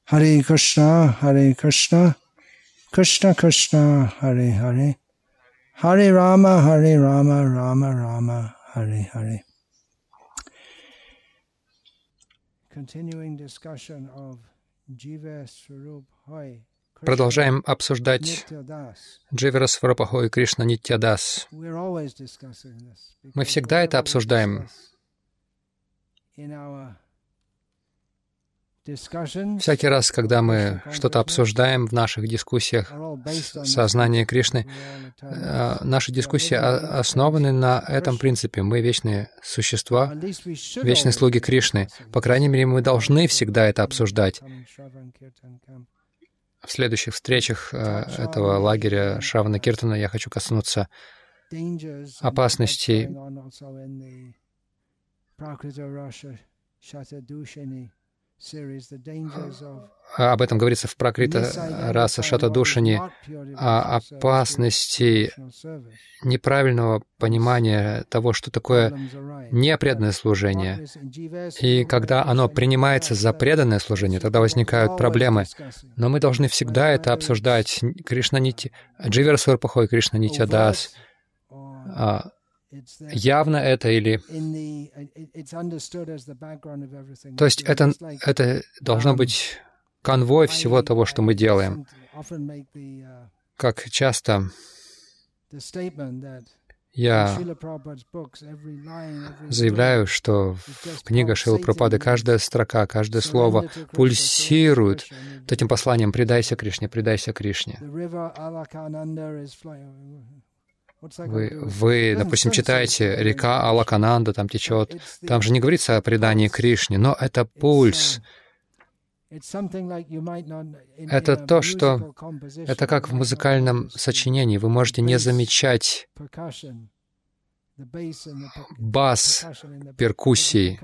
Hare Krishna, Krishna Krishna, Hare Hare, Hare Rama, Rama Rama, Hare Hare. Continuing discussion of Jiva Swarup Hoy. Продолжаем обсуждать Дживара Сварупахой Кришна Нитьядас. Мы всегда это обсуждаем. Всякий раз, когда мы что-то обсуждаем в наших дискуссиях сознания Кришны, наши дискуссии основаны на этом принципе. Мы вечные существа, вечные слуги Кришны. По крайней мере, мы должны всегда это обсуждать. В следующих встречах этого лагеря Шравана Киртана я хочу коснуться опасностей об этом говорится в Пракрита Раса Шатадушани, о опасности неправильного понимания того, что такое непреданное служение. И когда оно принимается за преданное служение, тогда возникают проблемы. Но мы должны всегда это обсуждать. Дживара Сварупахой Кришна Нитьядас. Явно это или... То есть это должно быть конвой всего того, что мы делаем. Как часто я заявляю, что в книгах Шрилы Прабхупады каждая строка, каждое слово пульсирует вот этим посланием «Предайся Кришне, предайся Кришне». Вы, допустим, читаете «Река Алакананда», там течет. Там же не говорится о предании Кришне, но это пульс. Это то, что... Это как в музыкальном сочинении. Вы можете не замечать бас перкуссии.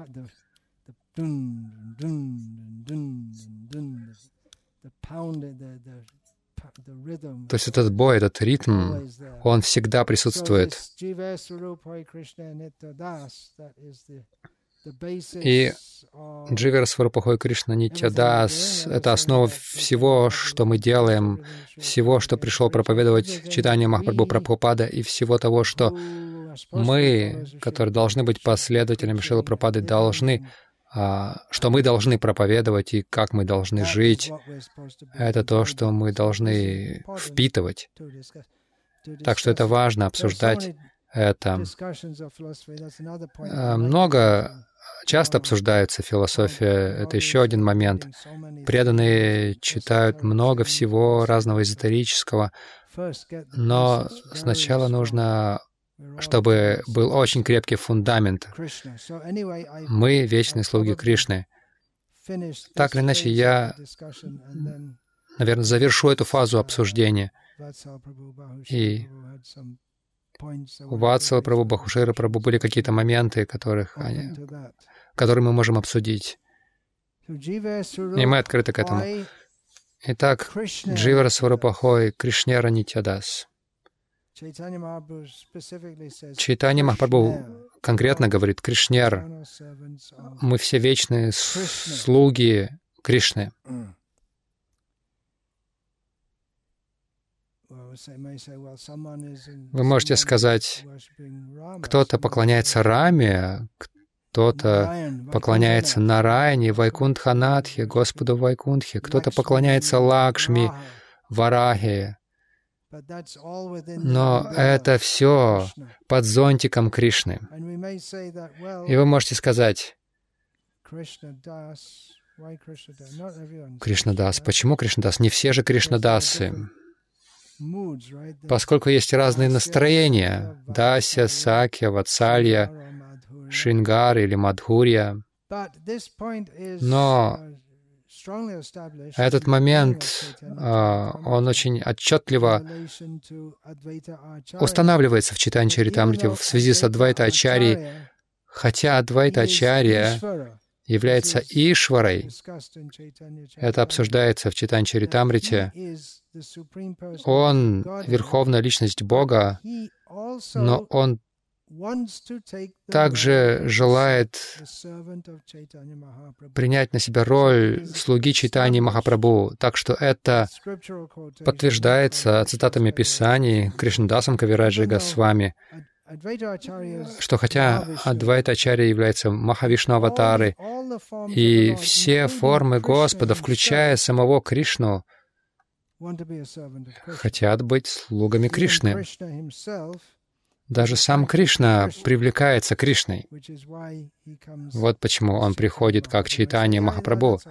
То есть этот бой, этот ритм, он всегда присутствует. И Дживара Сварупахой Кришна Нитьядас — это основа всего, что мы делаем, всего, что пришел проповедовать читание Махапрабху Прабхупада, и всего того, что мы, которые должны быть последователями Шрилы Прабхупады, что мы должны проповедовать и как мы должны жить. Это то, что мы должны впитывать. Так что это важно обсуждать это. Часто обсуждается философия. Это еще один момент. Преданные читают много всего разного эзотерического, но сначала нужно, чтобы был очень крепкий фундамент. Мы — вечные слуги Кришны. Так или иначе, я, наверное, завершу эту фазу обсуждения. И у Ватсала Прабху, Бахушира Прабху были какие-то моменты, которые мы можем обсудить. И мы открыты к этому. Итак, Дживара Сварупахой Кришнера Нитьядас. Чайтанья Махапрабху конкретно говорит: Кришнер, мы все вечные слуги Кришны. Вы можете сказать, кто-то поклоняется Раме, кто-то поклоняется Нараяне, Вайкунтханатхе, Господу Вайкунтхе, кто-то поклоняется Лакшми, Варахе. Но это все под зонтиком Кришны. И вы можете сказать: Кришнадас. Почему Кришнадас? Не все же Кришнадасы. Поскольку есть разные настроения — Дася, Сакья, Ватсалья, Шрингар или Мадхурья. Но этот момент, он очень отчетливо устанавливается в Чайтанья Чаритамрите в связи с Адвайта Ачарьей, хотя Адвайта Ачарья является Ишварой. Это обсуждается в Чайтанья Чаритамрите. Он — верховная личность Бога, но он также желает принять на себя роль слуги Чайтаньи Махапрабху. Так что это подтверждается цитатами Писаний Кришнадасом Кавираджой Госвами, что хотя Адвайта Ачарья является Махавишну аватары, и все формы Господа, включая самого Кришну, хотят быть слугами Кришны. Даже сам Кришна привлекается Кришной. Вот почему он приходит как Чайтанья Махапрабху.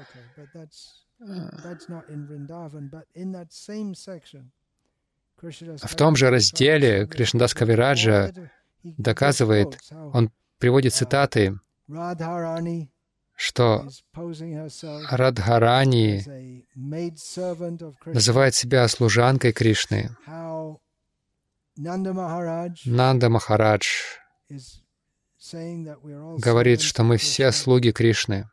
В том же разделе Кришнадас Кавираджа доказывает, он приводит цитаты, что Радхарани называет себя служанкой Кришны. Нанда Махарадж говорит, что мы все слуги Кришны.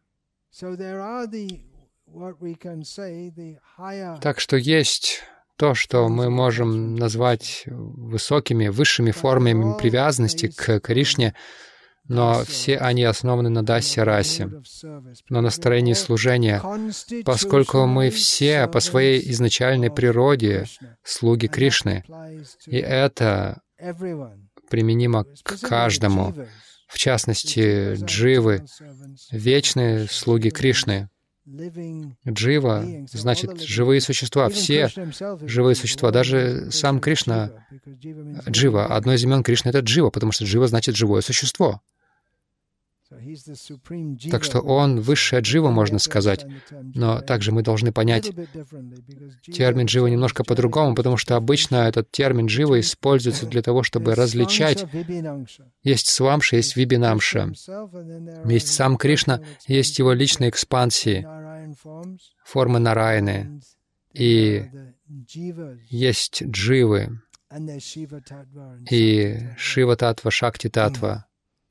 Так что есть то, что мы можем назвать высокими, высшими формами привязанности к Кришне, но все они основаны на дасья-расе, на настроении служения, поскольку мы все по своей изначальной природе слуги Кришны, и это применимо к каждому, в частности, дживы, вечные слуги Кришны. Джива значит живые существа, все живые существа, даже сам Кришна Джива. Одно из имен Кришны — это Джива, потому что Джива значит живое существо. Так что он высшая джива, можно сказать. Но также мы должны понять термин джива немножко по-другому, потому что обычно этот термин джива используется для того, чтобы различать. Есть свамша, есть вибинамша. Есть сам Кришна, есть его личные экспансии, формы Нараяны. И есть дживы, и Шива-татва, Шакти-татва.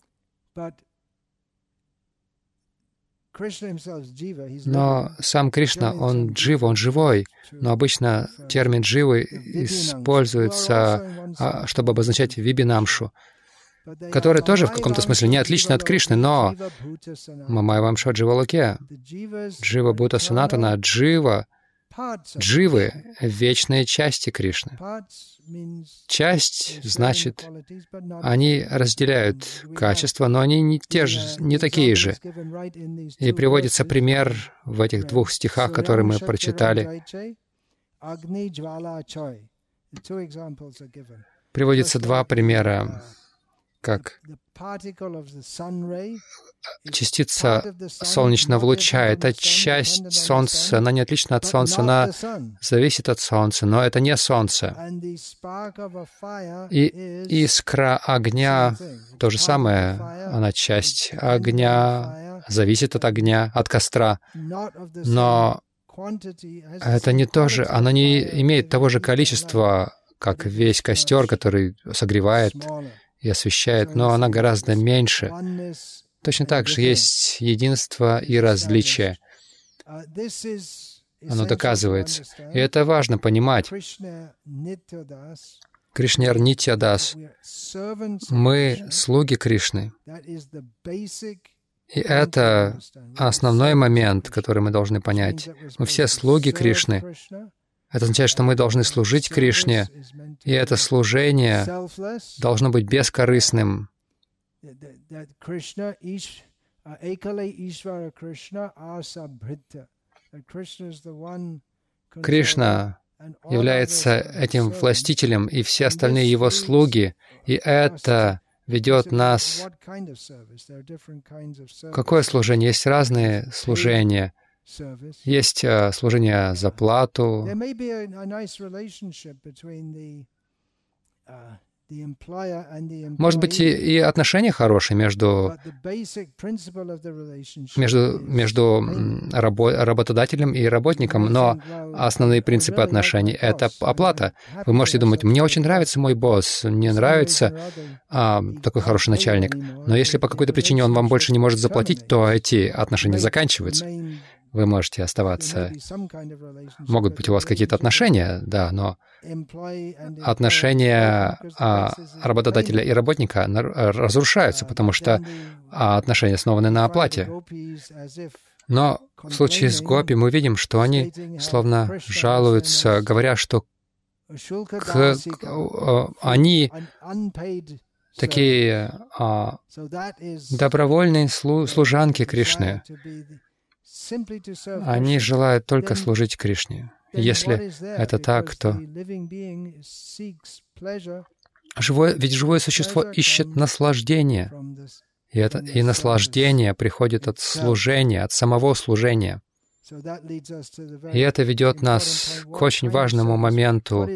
Но сам Кришна, он джива, он живой. Но обычно термин дживы используется, чтобы обозначать вибинамшу, которая тоже в каком-то смысле не отлична от Кришны, но Мамайвамша Дживалоке, Джива Бхута Санатана, джива, дживы — вечные части Кришны. Часть значит, они разделяют качества, но они не такие же. И приводится пример в этих двух стихах, которые мы прочитали. Приводится два примера, как частица солнечного луча — это часть Солнца, она не отлична от Солнца, она зависит от Солнца, но это не Солнце. И искра огня — то же самое, она часть огня, зависит от огня, от костра, но это не то же, она не имеет того же количества, как весь костер, который согревает и освещает, но она гораздо меньше. Точно так же есть единство и различие. Оно доказывается. И это важно понимать. Кришнер Нитьядас. Мы слуги Кришны. И это основной момент, который мы должны понять. Мы все слуги Кришны. Это означает, что мы должны служить Кришне, и это служение должно быть бескорыстным. Кришна является этим властителем, и все остальные его слуги, и это ведет нас... Какое служение? Есть разные служения. Есть служение за плату. Может быть, и отношения хорошие между работодателем и работником, но основные принципы отношений — это оплата. Вы можете думать, мне очень нравится мой босс, мне нравится такой хороший начальник, но если по какой-то причине он вам больше не может заплатить, то эти отношения заканчиваются. вы можете оставаться. Могут быть у вас какие-то отношения, да, но отношения работодателя и работника разрушаются, потому что отношения основаны на оплате. Но в случае с гопи мы видим, что они словно жалуются, говоря, что они такие добровольные служанки Кришны. Они желают только служить Кришне. Если это так, то ведь живое существо ищет наслаждение. И наслаждение приходит от служения, от самого служения. И это ведет нас к очень важному моменту.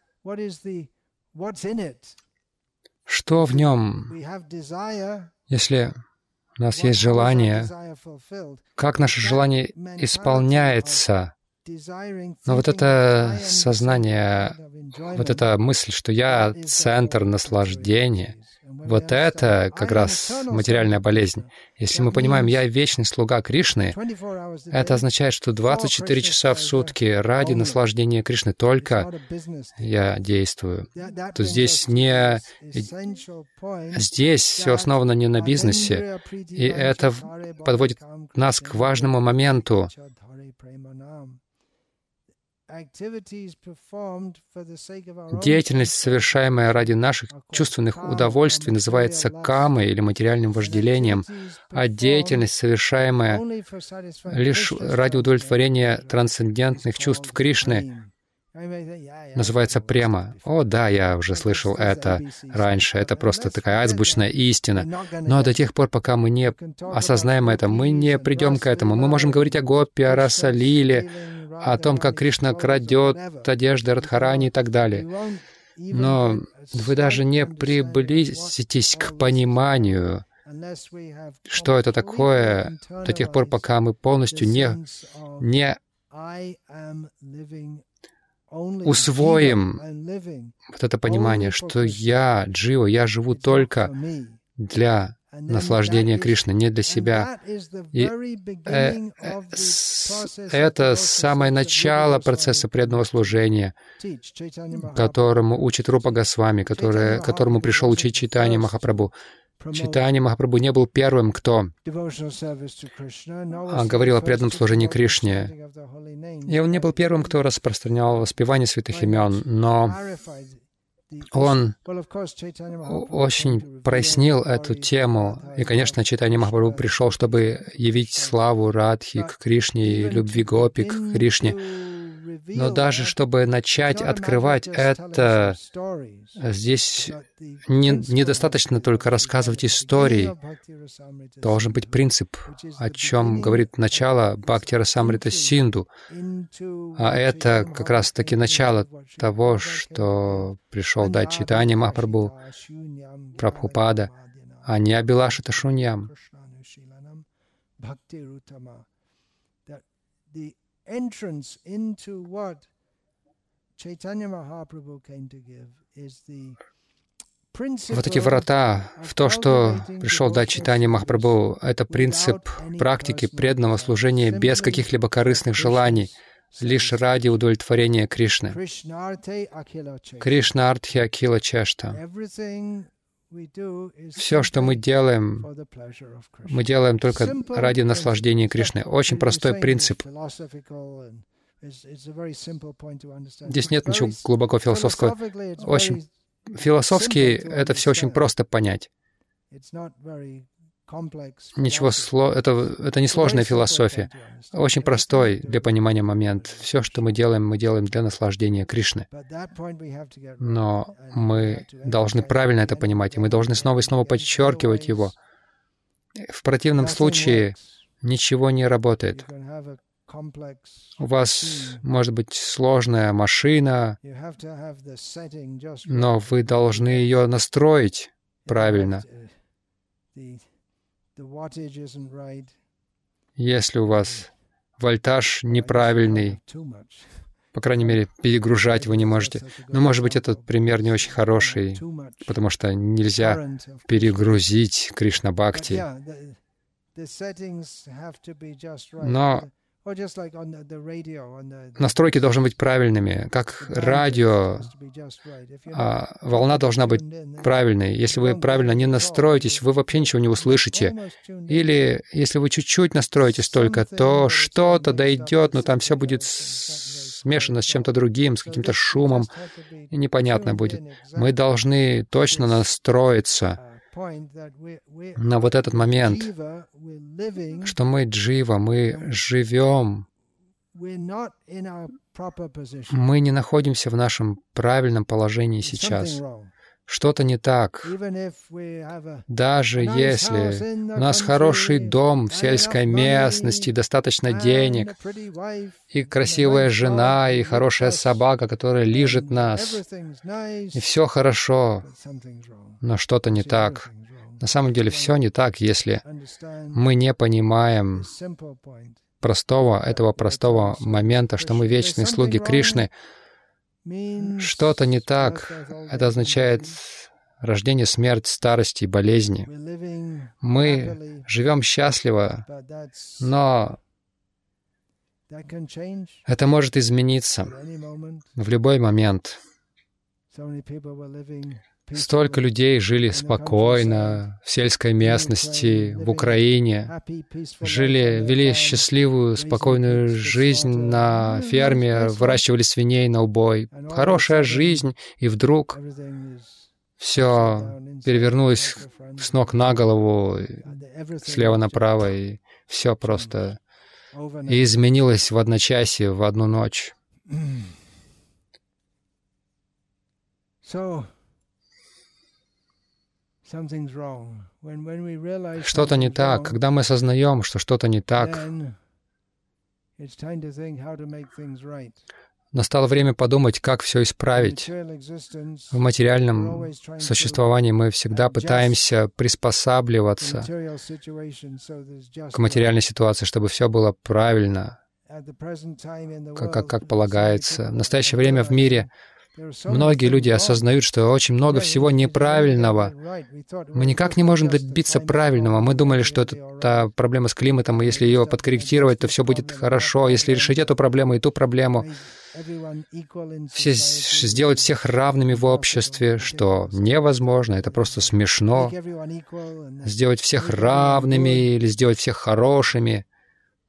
Что в нем? Если у нас есть желание, как наше желание исполняется? Но вот это сознание, вот эта мысль, что я центр наслаждения, вот это как раз материальная болезнь. Если мы понимаем, я вечный слуга Кришны, это означает, что 24 часа в сутки ради наслаждения Кришны только я действую. То здесь все основано не на бизнесе, и это подводит нас к важному моменту. Деятельность, совершаемая ради наших чувственных удовольствий, называется камой или материальным вожделением, а деятельность, совершаемая лишь ради удовлетворения трансцендентных чувств Кришны, называется према. О, да, я уже слышал это раньше. Это просто такая азбучная истина. Но до тех пор, пока мы не осознаем это, мы не придем к этому. Мы можем говорить о гопи, о раса-лиле, о том, как Кришна крадет одежды Радхарани и так далее. Но вы даже не приблизитесь к пониманию, что это такое, до тех пор, пока мы полностью не усвоим вот это понимание, что я джива, я живу только для наслаждения Кришны, не для себя. И это самое начало процесса преданного служения, которому учит Рупа Госвами, которому пришел учить Чайтанья Махапрабху. Чайтанья Махапрабху не был первым, кто говорил о преданном служении Кришне. И он не был первым, кто распространял воспевание святых имен, но он очень прояснил эту тему. И, конечно, Чайтанья Махапрабху пришел, чтобы явить славу Радхи к Кришне и любви гопи к Кришне. Но даже чтобы начать открывать это, здесь недостаточно только рассказывать истории. Должен быть принцип, о чем говорит начало Бхакти Расамрита Синду. А это как раз-таки начало того, что пришел дать Чайтанья Махапрабху, Прабхупада, а не Абилашита Шуньям. Entrance into what Chaitanya Mahaprabhu came to give is the principle. Вот эти врата в то, что пришел дать Чайтанья Махапрабху, это принцип практики преданного служения без каких-либо корыстных желаний, лишь ради удовлетворения Кришны. Кришна Артхи Акила Чешта. Все, что мы делаем только ради наслаждения Кришны. Очень простой принцип. Здесь нет ничего глубоко философского. Очень философски это все очень просто понять. Это не сложная философия. Очень простой для понимания момент. Все, что мы делаем для наслаждения Кришны. Но мы должны правильно это понимать, и мы должны снова и снова подчеркивать его. В противном случае ничего не работает. У вас может быть сложная машина, но вы должны ее настроить правильно. Если у вас вольтаж неправильный, по крайней мере, перегружать вы не можете. Но, может быть, этот пример не очень хороший, потому что нельзя перегрузить Кришна Бхакти. Но Настройки должны быть правильными, как радио. Волна должна быть правильной. Если вы правильно не настроитесь, вы вообще ничего не услышите. Или если вы чуть-чуть настроитесь только, то что-то дойдет, но там все будет смешано с чем-то другим, с каким-то шумом, и непонятно будет. Мы должны точно настроиться на вот этот момент, что мы джива, мы живем, мы не находимся в нашем правильном положении сейчас. Что-то не так. Даже если у нас хороший дом в сельской местности, достаточно денег, и красивая жена, и хорошая собака, которая лижет нас, и все хорошо, но что-то не так. На самом деле все не так, если мы не понимаем этого простого момента, что мы вечные слуги Кришны. Что-то не так. Это означает рождение, смерть, старость и болезни. Мы живем счастливо, но это может измениться в любой момент. Столько людей жили спокойно в сельской местности, в Украине, вели счастливую, спокойную жизнь на ферме, выращивали свиней на убой. Хорошая жизнь, и вдруг все перевернулось с ног на голову, слева направо, и все просто и изменилось в одночасье, в одну ночь. Что-то не так. Когда мы осознаем, что что-то не так, настало время подумать, как все исправить. В материальном существовании мы всегда пытаемся приспосабливаться к материальной ситуации, чтобы все было правильно, как полагается. В настоящее время в мире многие люди осознают, что очень много всего неправильного. Мы никак не можем добиться правильного. Мы думали, что это проблема с климатом, и если ее подкорректировать, то все будет хорошо. Если решить эту проблему и ту проблему, сделать всех равными в обществе, что невозможно, это просто смешно. Сделать всех равными или сделать всех хорошими —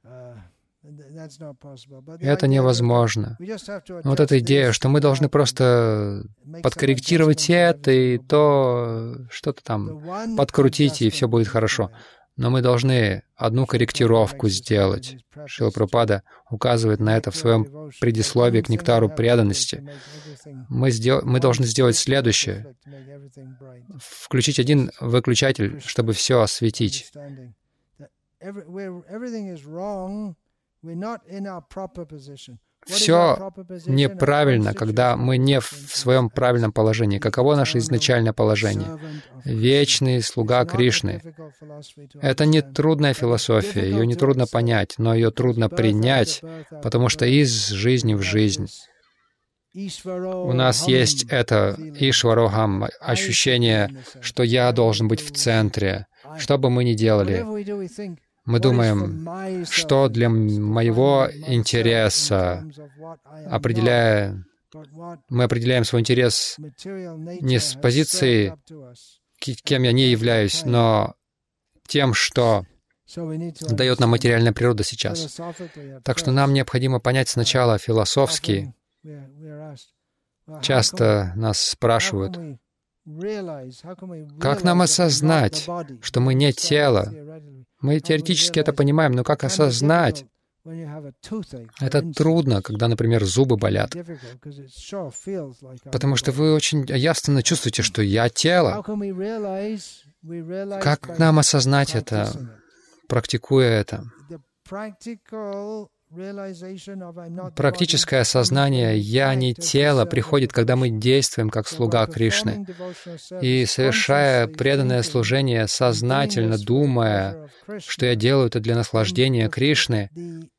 это невозможно. Вот эта идея, что мы должны просто подкорректировать это и то, что-то там подкрутить, и все будет хорошо. Но мы должны одну корректировку сделать. Шрила Прабхупада указывает на это в своем предисловии к нектару преданности. Мы должны сделать следующее. Включить один выключатель, чтобы все осветить. Все неправильно, когда мы не в своем правильном положении. Каково наше изначальное положение? Вечный слуга Кришны. Это не трудная философия, ее не трудно понять, но ее трудно принять, потому что из жизни в жизнь у нас есть это Ишварохам, ощущение, что я должен быть в центре, что бы мы ни делали. Мы думаем, что для моего интереса, мы определяем свой интерес не с позиции, кем я не являюсь, но тем, что дает нам материальная природа сейчас. Так что нам необходимо понять сначала философски. Часто нас спрашивают, как нам осознать, что мы не тело? Мы теоретически это понимаем, но как осознать? Это трудно, когда, например, зубы болят. Потому что вы очень явственно чувствуете, что я тело. Как нам осознать это, практикуя это? Практическое осознание «я не тело» приходит, когда мы действуем как слуга Кришны. И совершая преданное служение, сознательно думая, что я делаю это для наслаждения Кришны,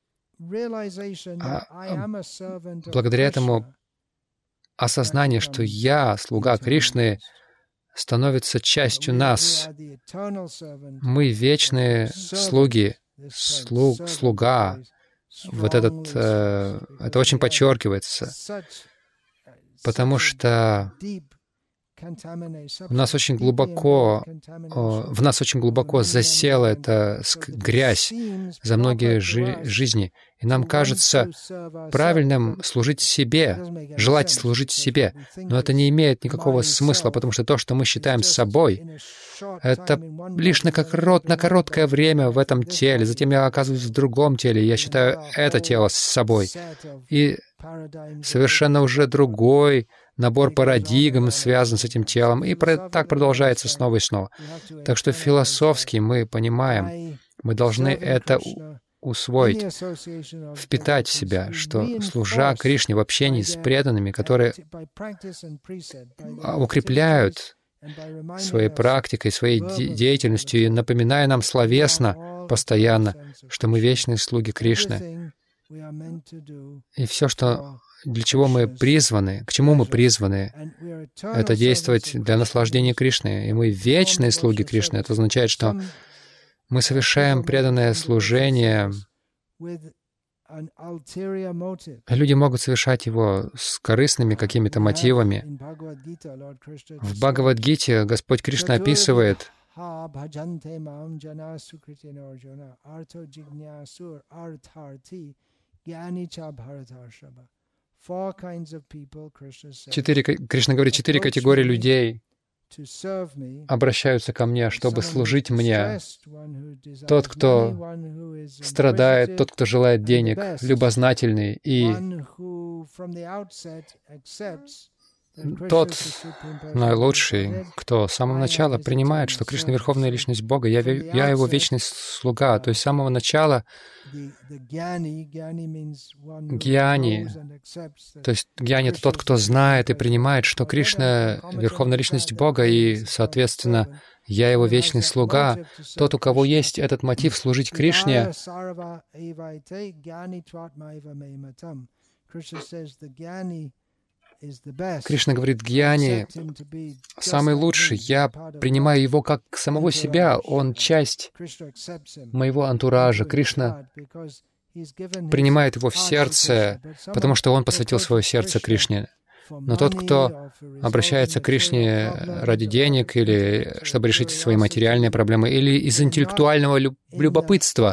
благодаря этому осознание, что я слуга Кришны, становится частью нас. Мы вечные слуги, слуга. вот это очень подчеркивается, потому что в нас очень глубоко засела эта грязь за многие жизни. И нам кажется правильным служить себе, желать служить себе. Но это не имеет никакого смысла, потому что то, что мы считаем собой, это лишь на короткое время в этом теле. Затем я оказываюсь в другом теле, и я считаю это тело с собой. И совершенно уже другой набор парадигм связан с этим телом, и так продолжается снова и снова. Так что философски мы понимаем, мы должны это усвоить, впитать в себя, что, служа Кришне в общении с преданными, которые укрепляют своей практикой, своей деятельностью и напоминая нам словесно постоянно, что мы вечные слуги Кришны. И все, для чего мы призваны, к чему мы призваны, это действовать для наслаждения Кришны. И мы вечные слуги Кришны. Это означает, что мы совершаем преданное служение. Люди могут совершать его с корыстными какими-то мотивами. В Бхагавад-гите Господь Кришна описывает, Кришна говорит, 4 категории людей обращаются ко мне, чтобы служить мне. Тот, кто страдает, тот, кто желает денег, любознательный, и тот наилучший, кто с самого начала принимает, что Кришна — Верховная Личность Бога, я Его вечный слуга. То есть с самого начала гьяни, то есть гьяни — это тот, кто знает и принимает, что Кришна — Верховная Личность Бога, и, соответственно, я Его вечный слуга. Тот, у кого есть этот мотив служить Кришне, Кришна говорит, гьяни самый лучший. Я принимаю его как самого себя. Он часть моего антуража. Кришна принимает его в сердце, потому что он посвятил свое сердце Кришне. Но тот, кто обращается к Кришне ради денег или чтобы решить свои материальные проблемы, или из интеллектуального любопытства,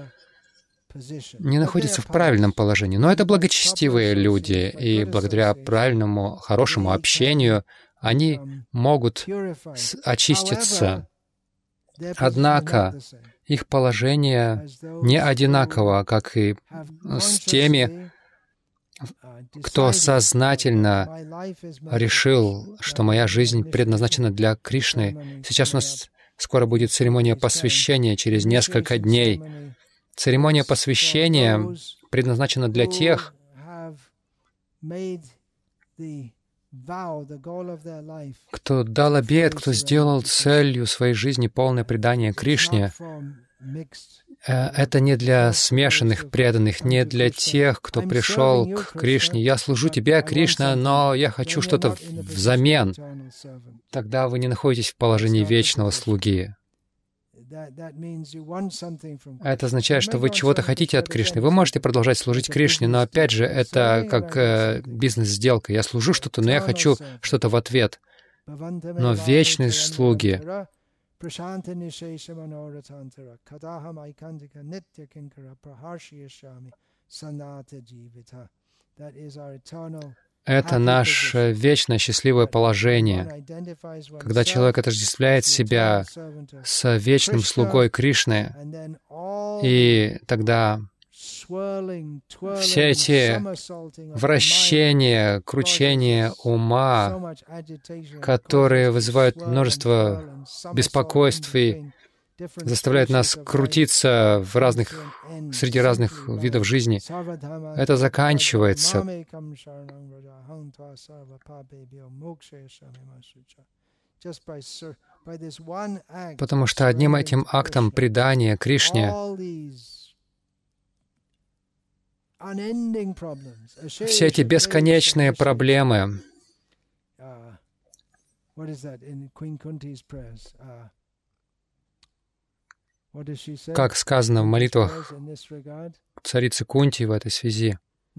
не находится в правильном положении. Но это благочестивые люди, и благодаря правильному, хорошему общению они могут очиститься. Однако их положение не одинаково, как и с теми, кто сознательно решил, что моя жизнь предназначена для Кришны. Сейчас у нас скоро будет церемония посвящения, через несколько дней. Церемония посвящения предназначена для тех, кто дал обет, кто сделал целью своей жизни полное предание Кришне. Это не для смешанных преданных, не для тех, кто пришел к Кришне. Я служу тебе, Кришна, но я хочу что-то взамен. Тогда вы не находитесь в положении вечного слуги. Это означает, что вы чего-то хотите от Кришны. Вы можете продолжать служить Кришне, но опять же, это как бизнес-сделка. Я служу что-то, но я хочу что-то в ответ. Но вечные слуги, это наше вечное счастливое положение, когда человек отождествляет себя с вечным слугой Кришны, и тогда все эти вращения, кручения ума, которые вызывают множество беспокойств и заставляют нас крутиться среди разных видов жизни, это заканчивается. Потому что одним этим актом предания Кришне все эти бесконечные проблемы, Как сказано в молитвах царицы Кунти в этой связи.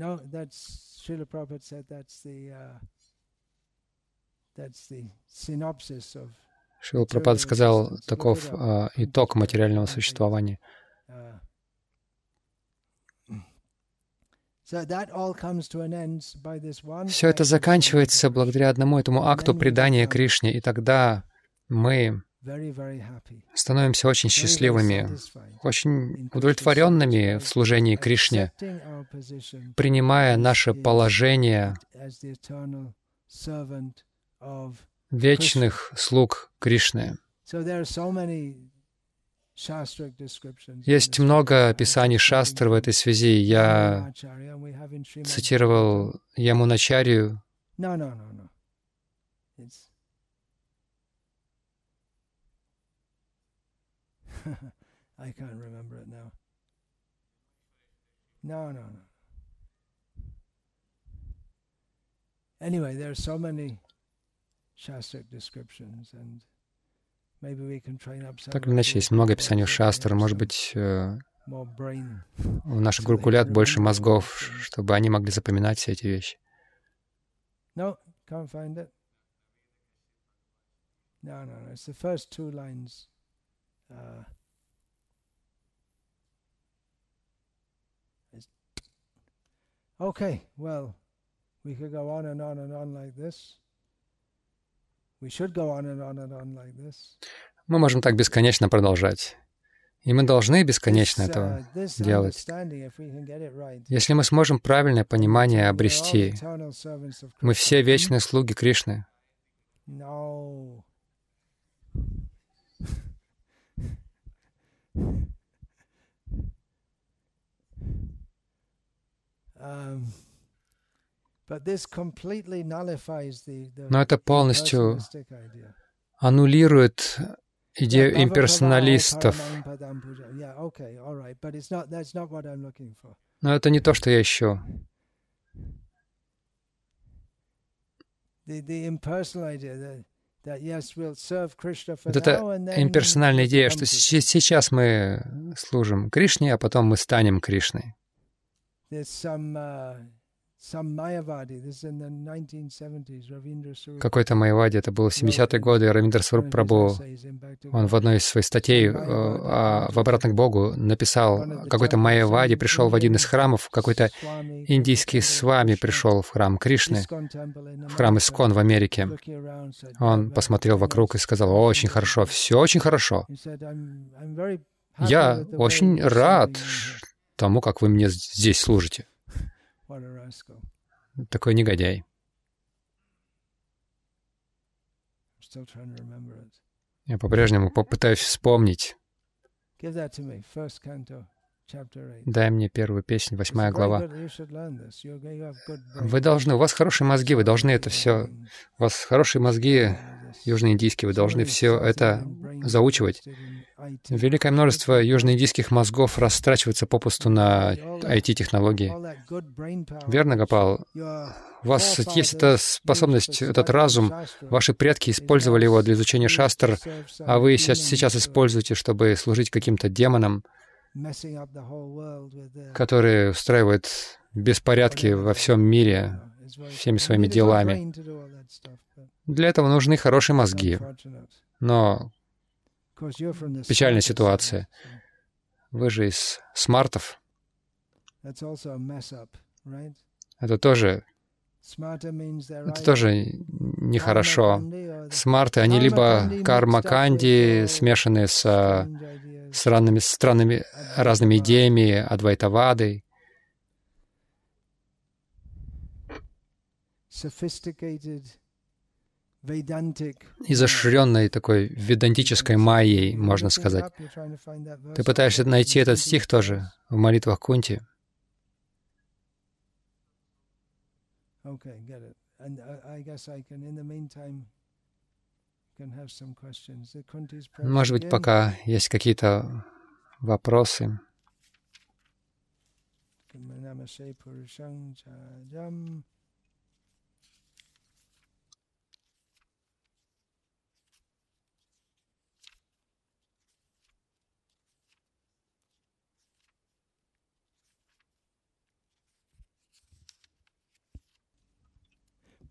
Шрила Прабхупада сказал, таков итог материального существования. Все это заканчивается благодаря одному этому акту предания Кришне, и тогда мы становимся очень счастливыми, очень удовлетворенными в служении Кришне, принимая наше положение вечных слуг Кришны. Есть много описаний шастр в этой связи. Я цитировал Ямуначарью. I can't remember it now. No. Anyway, there are so many shastric descriptions, and maybe we can train up some. Так или иначе, есть много описаний шастр. Может быть, у наших гурукулят больше мозгов, чтобы они могли запоминать все эти вещи. No, can't find it. No. It's the first two lines. Okay, well, we could go on and on and on like this. We should go on and on and on like this. Мы можем так бесконечно продолжать. И мы должны бесконечно это делать. Если мы сможем правильное понимание обрести, мы все вечные слуги Кришны. Но это полностью аннулирует идею имперсоналистов. Но это не то, что я ищу. Вот эта имперсональная идея, что сейчас мы служим Кришне, а потом мы станем Кришной. Какой-то майявади, это было в 70-е годы, Равиндра Сварупа Прабху, он в одной из своих статей в «Обратно к Богу» написал, какой-то майявади пришел в один из храмов, какой-то индийский свами пришел в храм Кришны, в храм Искон в Америке. Он посмотрел вокруг и сказал: «Очень хорошо, все очень хорошо. Я очень рад тому, как вы мне здесь служите». Такой негодяй. Я по-прежнему попытаюсь вспомнить. Дай мне первую песню, 8 глава. Вы должны, у вас хорошие мозги, вы должны это все, у вас хорошие мозги южноиндийские, вы должны все это заучивать. Великое множество южноиндийских мозгов растрачивается попусту на IT-технологии. Верно, Гопал? У вас есть эта способность, этот разум. Ваши предки использовали его для изучения шастр, а вы сейчас используете, чтобы служить каким-то демонам, которые устраивают беспорядки во всем мире всеми своими делами. Для этого нужны хорошие мозги. Но печальная ситуация. Вы же из смартов. Это тоже нехорошо. Смарты, они либо карма-канди, смешанные с разными идеями, адвайтавадой, изощренной такой ведантической майей, можно сказать. Ты пытаешься найти этот стих тоже в молитвах Кунти? Может быть, пока есть какие-то вопросы.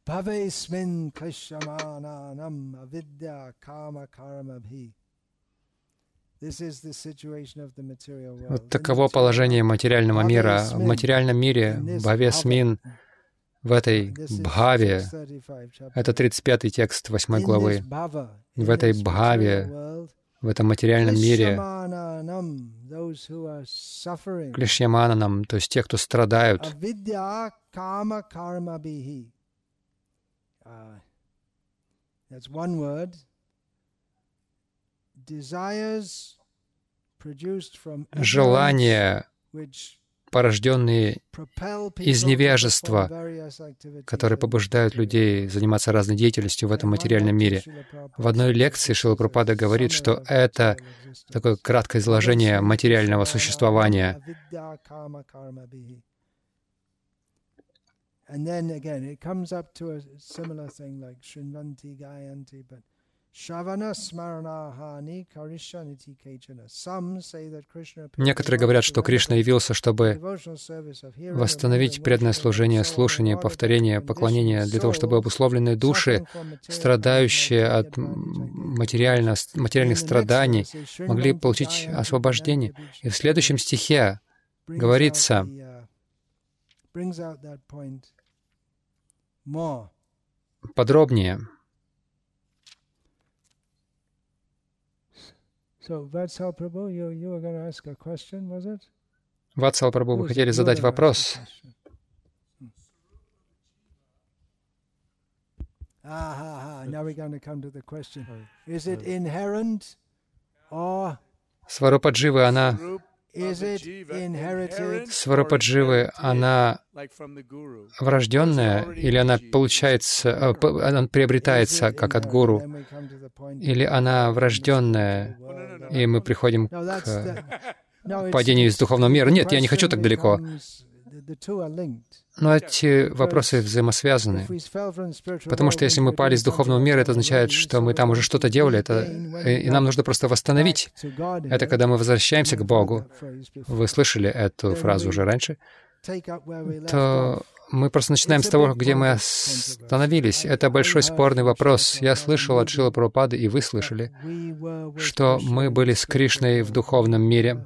Bhavesmin klishyamananam avidya kama karamabhi. Вот таково положение материального мира. В материальном мире бхавесмин, в этой бхаве, это 35-й текст 8 главы, в этой бхаве, в этом материальном мире, клишьямананам, то есть те, кто страдают, желания, порожденные из невежества, которые побуждают людей заниматься разной деятельностью в этом материальном мире. В одной лекции Шрила Прабхупада говорит, что это такое краткое изложение материального существования. Некоторые говорят, что Кришна явился, чтобы восстановить преданное служение, слушание, повторение, поклонение, для того, чтобы обусловленные души, страдающие от материальных страданий, могли получить освобождение. И в следующем стихе говорится подробнее. Ватсал Прабху, вы хотели задать вопрос? Сварупадживы, она врожденная, или она получается, она приобретается как от гуру, или она врожденная, и мы приходим к падению из духовного мира? Нет, я не хочу так далеко. Но эти вопросы взаимосвязаны. Потому что если мы пали из духовного мира, это означает, что мы там уже что-то делали, и нам нужно просто восстановить. Это когда мы возвращаемся к Богу. Вы слышали эту фразу уже раньше? То мы просто начинаем с того, где мы остановились. Это большой спорный вопрос. Я слышал от Шрилы Прабхупады, и вы слышали, что мы были с Кришной в духовном мире.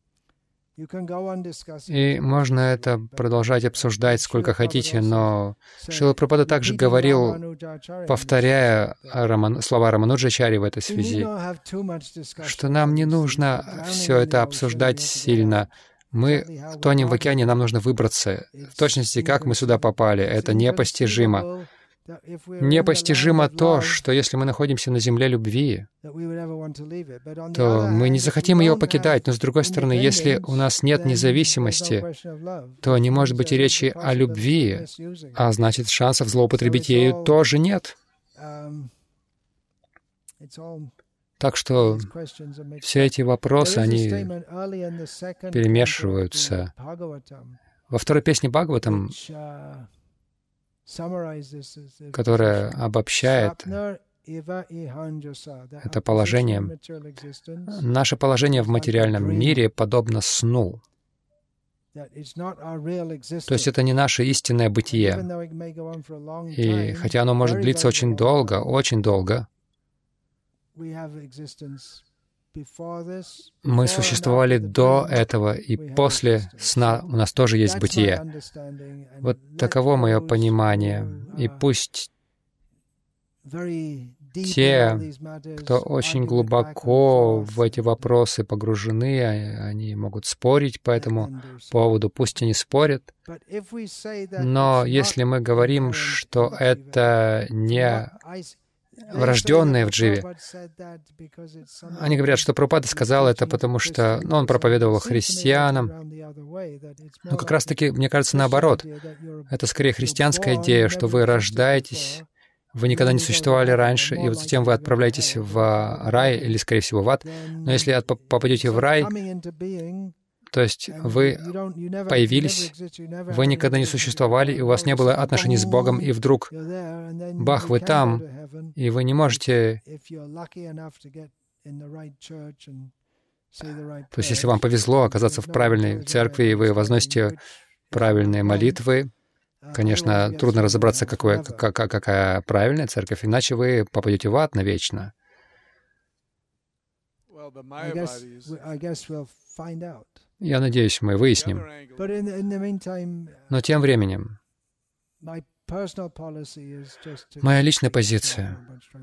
И можно это продолжать обсуждать сколько хотите, но Шрила Прабхупада также говорил, повторяя слова Рамануджачари в этой связи, что нам не нужно все это обсуждать сильно. Мы тонем в океане, нам нужно выбраться. В точности, как мы сюда попали, это непостижимо. Непостижимо то, что если мы находимся на земле любви, то мы не захотим ее покидать. Но с другой стороны, если у нас нет независимости, то не может быть и речи о любви, а значит, шансов злоупотребить ею тоже нет. Так что все эти вопросы, они перемешиваются. Во второй песне Бхагаватам, которая обобщает это положение, наше положение в материальном мире подобно сну. То есть это не наше истинное бытие. И хотя оно может длиться очень долго, мы существовали до этого, и после сна у нас тоже есть бытие. Вот таково мое понимание. И пусть те, кто очень глубоко в эти вопросы погружены, они могут спорить по этому поводу, пусть они спорят. Но если мы говорим, что это не врожденные в дживе. Они говорят, что Прабхупада сказал это, потому что он проповедовал христианам. Но как раз-таки, мне кажется, наоборот. Это скорее христианская идея, что вы рождаетесь, вы никогда не существовали раньше, и вот затем вы отправляетесь в рай, или, скорее всего, в ад. Но если попадете в рай, то есть вы появились, вы никогда не существовали, и у вас не было отношений с Богом, и вдруг, бах, вы там, и вы не можете... То есть если вам повезло оказаться в правильной церкви, и вы возносите правильные молитвы, Конечно, трудно разобраться, какая правильная церковь, иначе вы попадете в ад навечно. Я надеюсь, мы выясним. Но тем временем, моя личная позиция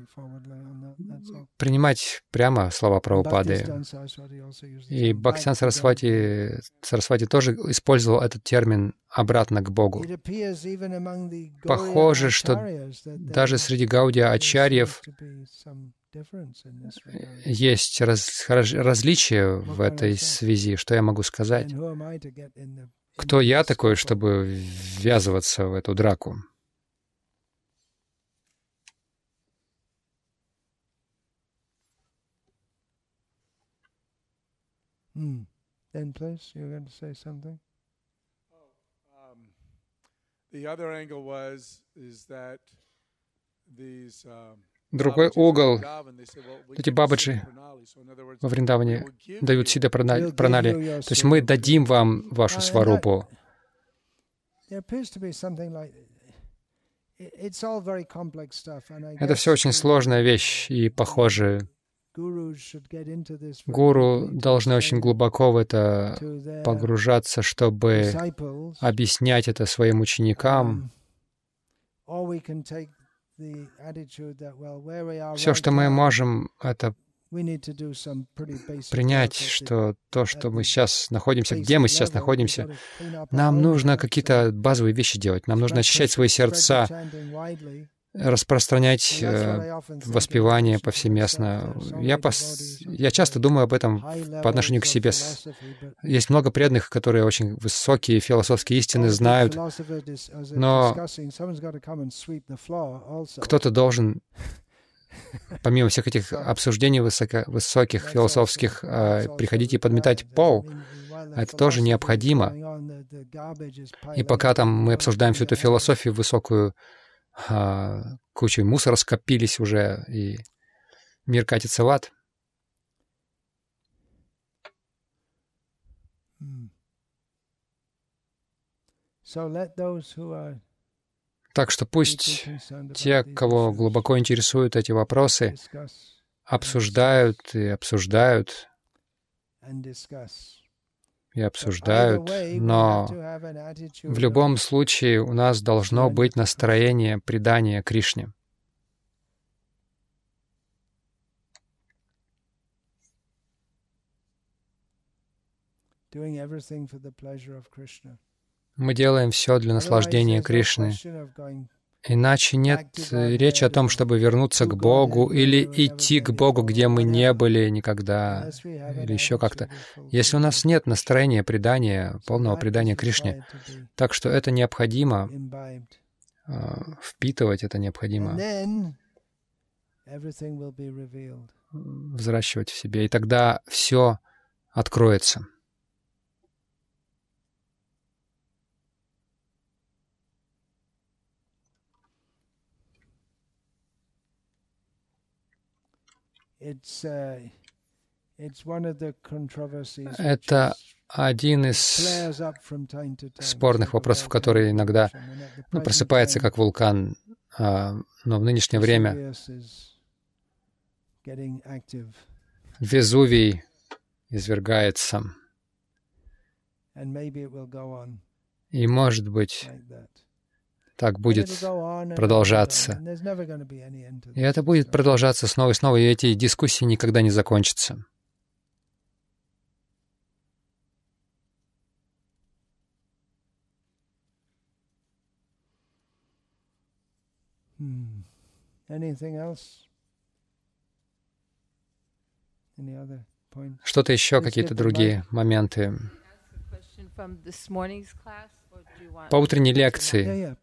— принимать прямо слова Прабхупады. И Бхактисиданта Сарасвати тоже использовал этот термин обратно к Богу. Похоже, что даже среди гаудия-ачарьев есть различия в этой связи. Что я могу сказать? Кто я такой, чтобы ввязываться в эту драку? Then, please, you're going to say something. The other angle is that these другой угол, эти бабаджи во Вриндаване дают сида пранали. То есть мы дадим вам вашу сварупу. Это все очень сложная вещь, и, похоже, гуру должны очень глубоко в это погружаться, чтобы объяснять это своим ученикам. Все, что мы можем, это принять, что то, что мы сейчас находимся, где мы сейчас находимся, нам нужно какие-то базовые вещи делать. Нам нужно очищать свои сердца, распространять воспевание повсеместно. Я часто думаю об этом по отношению к себе. Есть много преданных, которые очень высокие философские истины знают, но кто-то должен, помимо всех этих обсуждений высоких философских, приходить и подметать пол. Это тоже необходимо. И пока там мы обсуждаем всю эту философию высокую, кучей мусора скопились уже, и мир катится в ад. Так что пусть те, кого глубоко интересуют эти вопросы, обсуждают и обсуждают, но в любом случае у нас должно быть настроение предания Кришне. Мы делаем все для наслаждения Кришны. Иначе нет речи о том, чтобы вернуться к Богу или идти к Богу, где мы не были никогда, или еще как-то. Если у нас нет настроения предания, полного предания Кришне, так что это необходимо, впитывать это необходимо, взращивать в себе, и тогда все откроется. Это один из спорных вопросов, который иногда просыпается как вулкан, но в нынешнее время Везувий извергается. И, может быть, так будет продолжаться. И это будет продолжаться снова и снова, и эти дискуссии никогда не закончатся. Что-то еще, какие-то другие моменты? По утренней лекции.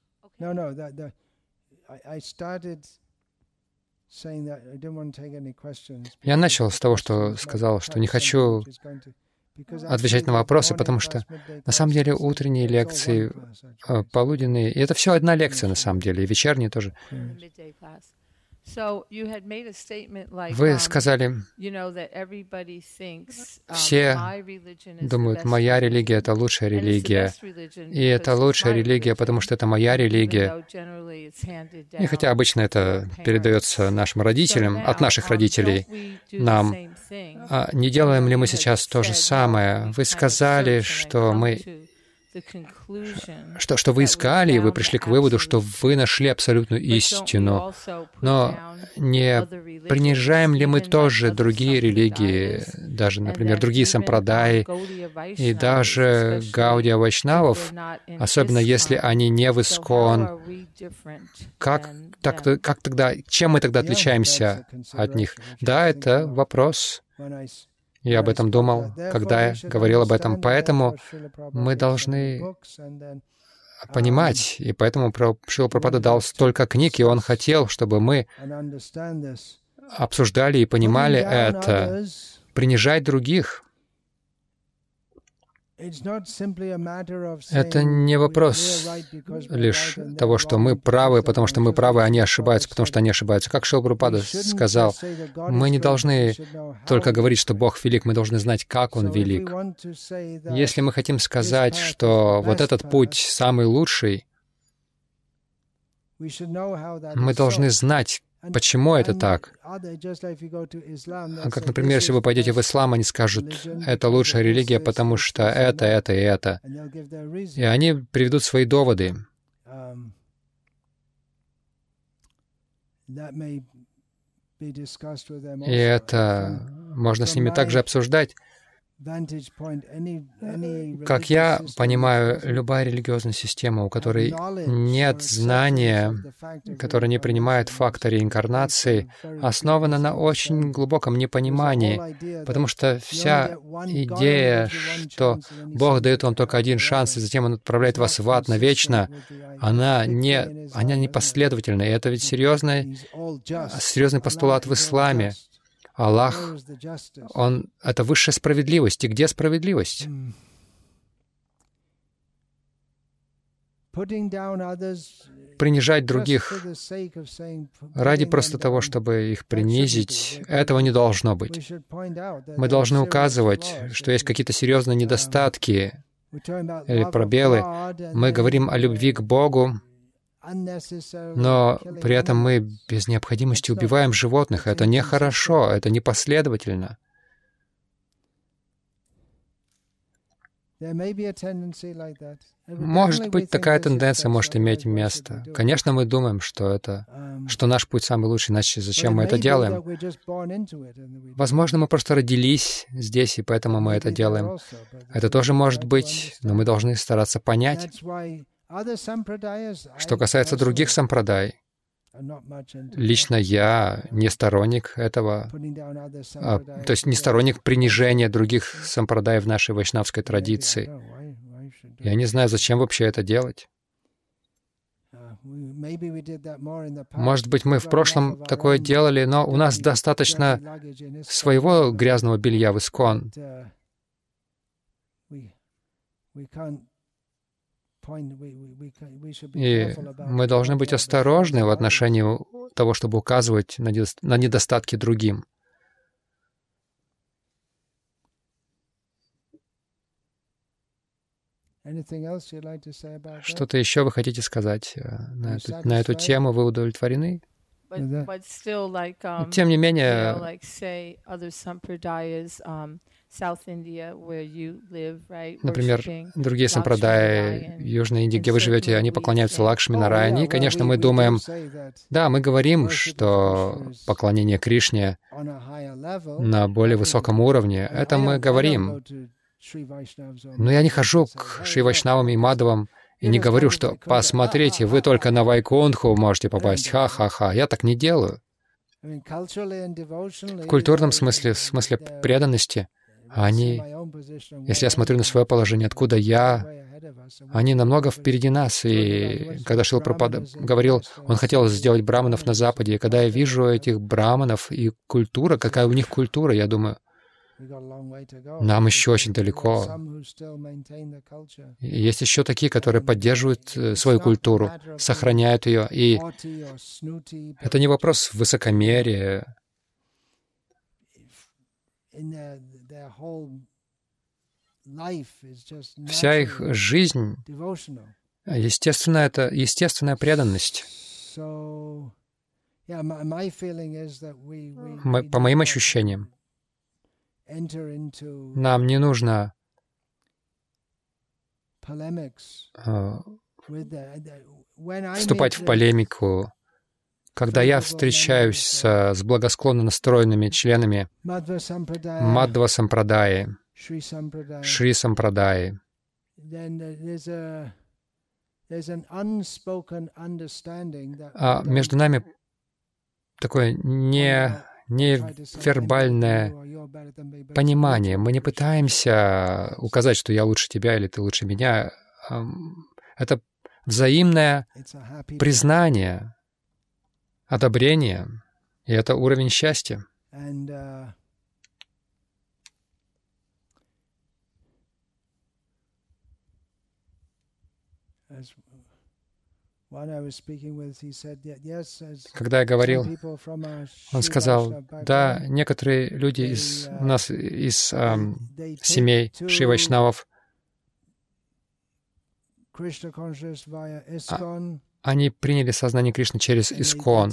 Я начал с того, что сказал, что не хочу отвечать на вопросы, потому что на самом деле утренние лекции, полуденные, и это все одна лекция на самом деле, и вечерние тоже. Вы сказали, все думают, моя религия — это лучшая религия, и это лучшая религия, потому что это моя религия. И хотя обычно это передается нашим родителям, от наших родителей нам, не делаем ли мы сейчас то же самое? Вы сказали, что вы искали, и вы пришли к выводу, что вы нашли абсолютную истину. Но не принижаем ли мы тоже другие религии, даже, например, другие сампрадаи, и даже Гаудия Вайшнавов, особенно если они не в Искон? Как тогда, чем мы тогда отличаемся от них? Да, это вопрос. Я об этом думал, когда я говорил об этом. Поэтому мы должны понимать, и поэтому Шрила Прабхупада дал столько книг, и он хотел, чтобы мы обсуждали и понимали это. Принижать других — это не вопрос лишь того, что мы правы, потому что мы правы, а они ошибаются, потому что они ошибаются. Как Шрила Прабхупада сказал, мы не должны только говорить, что Бог велик, мы должны знать, как Он велик. Если мы хотим сказать, что вот этот путь самый лучший, мы должны знать, почему это так. Как, например, если вы пойдете в ислам, они скажут, это лучшая религия, потому что это и это. И они приведут свои доводы. И это можно с ними также обсуждать. Как я понимаю, любая религиозная система, у которой нет знания, которая не принимает факта реинкарнации, основана на очень глубоком непонимании, потому что вся идея, что Бог дает вам только один шанс, и затем Он отправляет вас в ад навечно, она не последовательна. И это ведь серьезный постулат в исламе. Аллах, Он — это высшая справедливость. И где справедливость? Принижать других ради просто того, чтобы их принизить, этого не должно быть. Мы должны указывать, что есть какие-то серьезные недостатки или пробелы. Мы говорим о любви к Богу, но при этом мы без необходимости убиваем животных. Это нехорошо, это непоследовательно. Может быть, такая тенденция может иметь место. Конечно, мы думаем, что наш путь самый лучший, иначе зачем мы это делаем? Возможно, мы просто родились здесь, и поэтому мы это делаем. Это тоже может быть, но мы должны стараться понять. Что касается других сампрадай, лично я не сторонник этого, то есть не сторонник принижения других сампрадай в нашей вайшнавской традиции. Я не знаю, зачем вообще это делать. Может быть, мы в прошлом такое делали, но у нас достаточно своего грязного белья в Искон. И мы должны быть осторожны в отношении того, чтобы указывать на недостатки другим. Что-то еще вы хотите сказать на эту тему? Вы удовлетворены? Тем не менее, например, другие сампрадаи Южной Индии, где вы живете, они поклоняются Лакшми Нараяне. И, конечно, мы думаем, да, мы говорим, что поклонение Кришне на более высоком уровне, это мы говорим. Но я не хожу к Шри Вайшнавам и Мадхавам и не говорю, что «посмотрите, вы только на Вайкунтху можете попасть, ха-ха-ха». Я так не делаю. В культурном смысле, в смысле преданности, они, если я смотрю на свое положение, откуда я, они намного впереди нас. И когда Шрила Прабхупада говорил, он хотел сделать браманов на Западе, и когда я вижу этих браманов и культура, какая у них культура, я думаю, Нам еще очень далеко. Есть еще такие, которые поддерживают свою культуру, сохраняют ее. И это не вопрос высокомерия. Вся их жизнь, естественно, это естественная преданность. По моим ощущениям, нам не нужно вступать в полемику. Когда я встречаюсь с благосклонно настроенными членами Мадхва Сампрадаи, Шри Сампрадаи, между нами такое невербальное понимание. Мы не пытаемся указать, что я лучше тебя или ты лучше меня. Это взаимное признание, одобрение, и это уровень счастья. Когда я говорил, он сказал, да, некоторые люди у нас из семей Шри Вайшнавов, они приняли сознание Кришны через ИСККОН.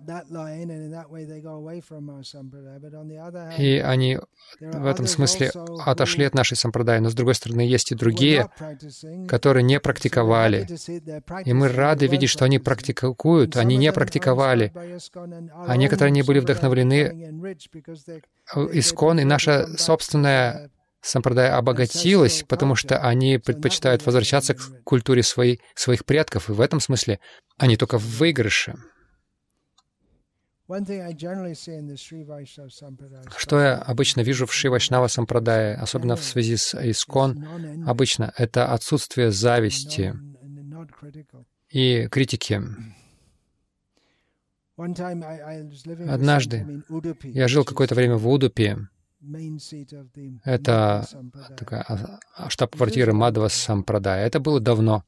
И они в этом смысле отошли от нашей сампрадаи. Но, с другой стороны, есть и другие, которые не практиковали. И мы рады видеть, что они практикуют. Они не практиковали. А некоторые не были вдохновлены ИСККОН, и наша собственная сампрадая обогатилась, потому что они предпочитают возвращаться к культуре своих предков, и в этом смысле они только в выигрыше. Что я обычно вижу в Шри Вайшнава Сампрадае, особенно в связи с ИСККОН, обычно это отсутствие зависти и критики. Однажды я жил какое-то время в Удупи. Это такая штаб-квартира Мадхва Сампрадая. Это было давно.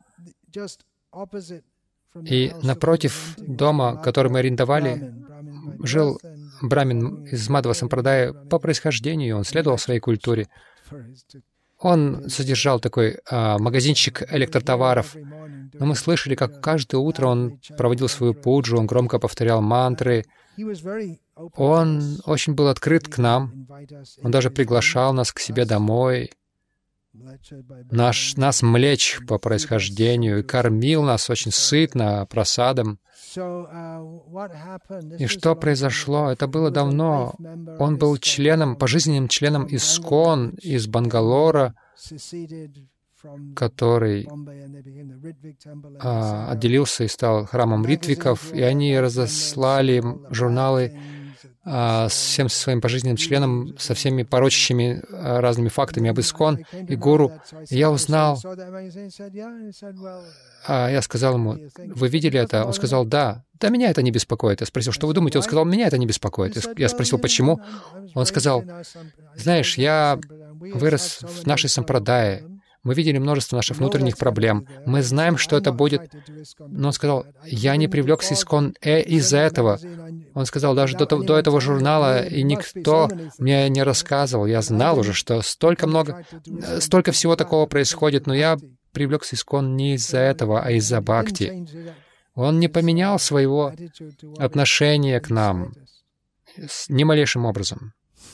И напротив дома, который мы арендовали, жил брамин из Мадхва Сампрадая по происхождению. Он следовал своей культуре. Он содержал такой магазинчик электротоваров. Но мы слышали, как каждое утро он проводил свою пуджу, он громко повторял мантры. Он очень был открыт к нам. Он даже приглашал нас к себе домой, нас млечь по происхождению, и кормил нас очень сытно, просадом. И что произошло? Это было давно. Он был пожизненным членом ИСККОН из Бангалора, который отделился и стал храмом Ритвиков, и они разослали журналы с всем своим пожизненным членом, со всеми порочащими разными фактами об ИСККОН и гуру. И я узнал, я сказал ему, вы видели это? Он сказал, да. Да, меня это не беспокоит. Я спросил, что вы думаете? Он сказал, меня это не беспокоит. Я спросил, почему? Он сказал, знаешь, я вырос в нашей сампрадае. Мы видели множество наших внутренних проблем. Мы знаем, что это будет. Но он сказал, я не привлекся ИСККОН из-за этого. Он сказал, даже до этого журнала, и никто мне не рассказывал. Я знал уже, что столько всего такого происходит, но я привлекся ИСККОН не из-за этого, а из-за бхакти. Он не поменял своего отношения к нам ни малейшим образом.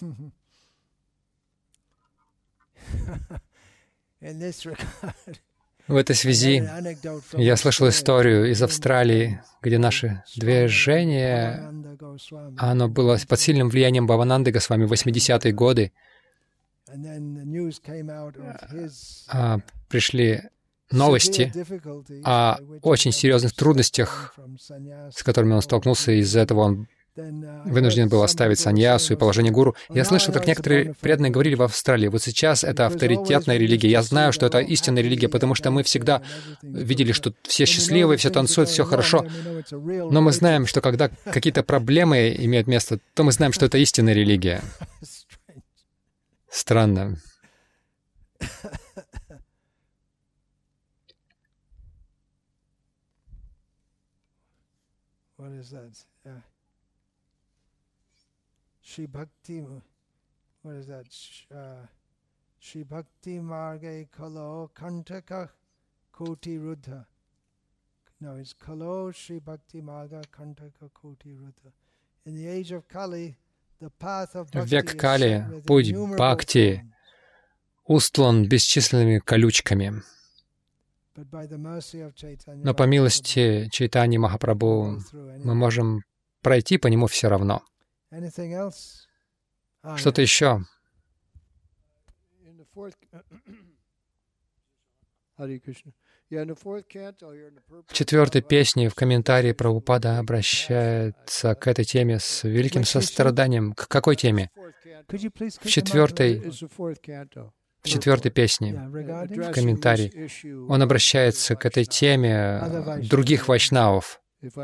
В этой связи я слышал историю из Австралии, где наше движение, оно было под сильным влиянием Бхавананды Госвами в 80-е годы. Пришли новости о очень серьезных трудностях, с которыми он столкнулся, и из-за этого он вынужден был оставить саньясу и положение гуру. Я слышал, как некоторые преданные говорили в Австралии, вот сейчас это авторитетная религия. Я знаю, что это истинная религия, потому что мы всегда видели, что все счастливые, все танцуют, все хорошо. Но мы знаем, что когда какие-то проблемы имеют место, то мы знаем, что это истинная религия. Странно. Shri Bhakti Marge Kalo Kantaka Koti Ruddha. No, it's Kalo Shri Bhakti Marga Kantaka Koti Ruddha. In the age of Kali, the path of В Bhakti век is Кали set with путь innumerable Бхакти thorns. устлан бесчисленными колючками. But by the mercy of Chaitanya Но по Mahaprabhu, милости Чайтаньи we Махапрабху go through мы anyway. можем пройти по нему все равно. Anything else? Что-то еще? В четвертой песне в комментарии Прабхупада обращается к этой теме с великим состраданием. К какой теме? В четвертой песне, в комментарии, он обращается к этой теме других вайшнавов.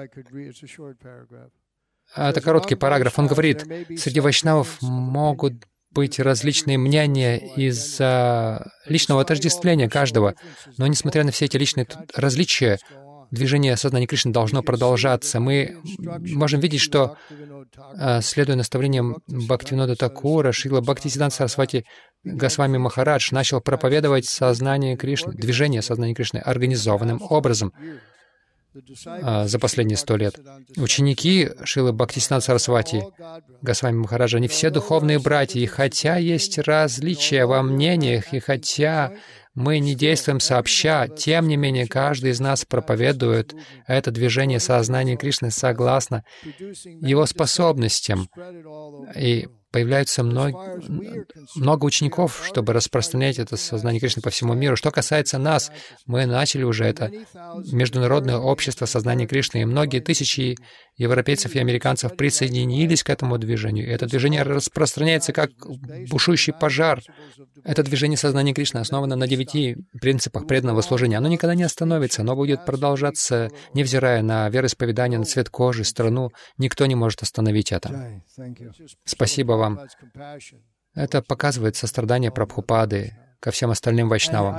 Это короткий параграф. Он говорит, среди вайшнавов могут быть различные мнения из-за личного отождествления каждого. Но несмотря на все эти личные различия, движение сознания Кришны должно продолжаться. Мы можем видеть, что, следуя наставлениям Бхактивинода Такура, Шрила Бхактисиданта Сарасвати Госвами Махарадж начал проповедовать сознание Кришны, движение сознания Кришны организованным образом за последние 100 лет. Ученики Шрилы Бхактисиданта Сарасвати Госвами Махараджа, они все духовные братья, и хотя есть различия во мнениях, и хотя мы не действуем сообща, тем не менее каждый из нас проповедует это движение сознания Кришны согласно его способностям. И появляется много учеников, чтобы распространять это сознание Кришны по всему миру. Что касается нас, мы начали уже это международное общество сознания Кришны, и многие тысячи европейцев и американцев присоединились к этому движению. И это движение распространяется как бушующий пожар. Это движение сознания Кришны основано на 9 принципах преданного служения. Оно никогда не остановится, оно будет продолжаться, невзирая на вероисповедание, на цвет кожи, страну. Никто не может остановить это. Спасибо вам. Это показывает сострадание Прабхупады ко всем остальным вайшнавам.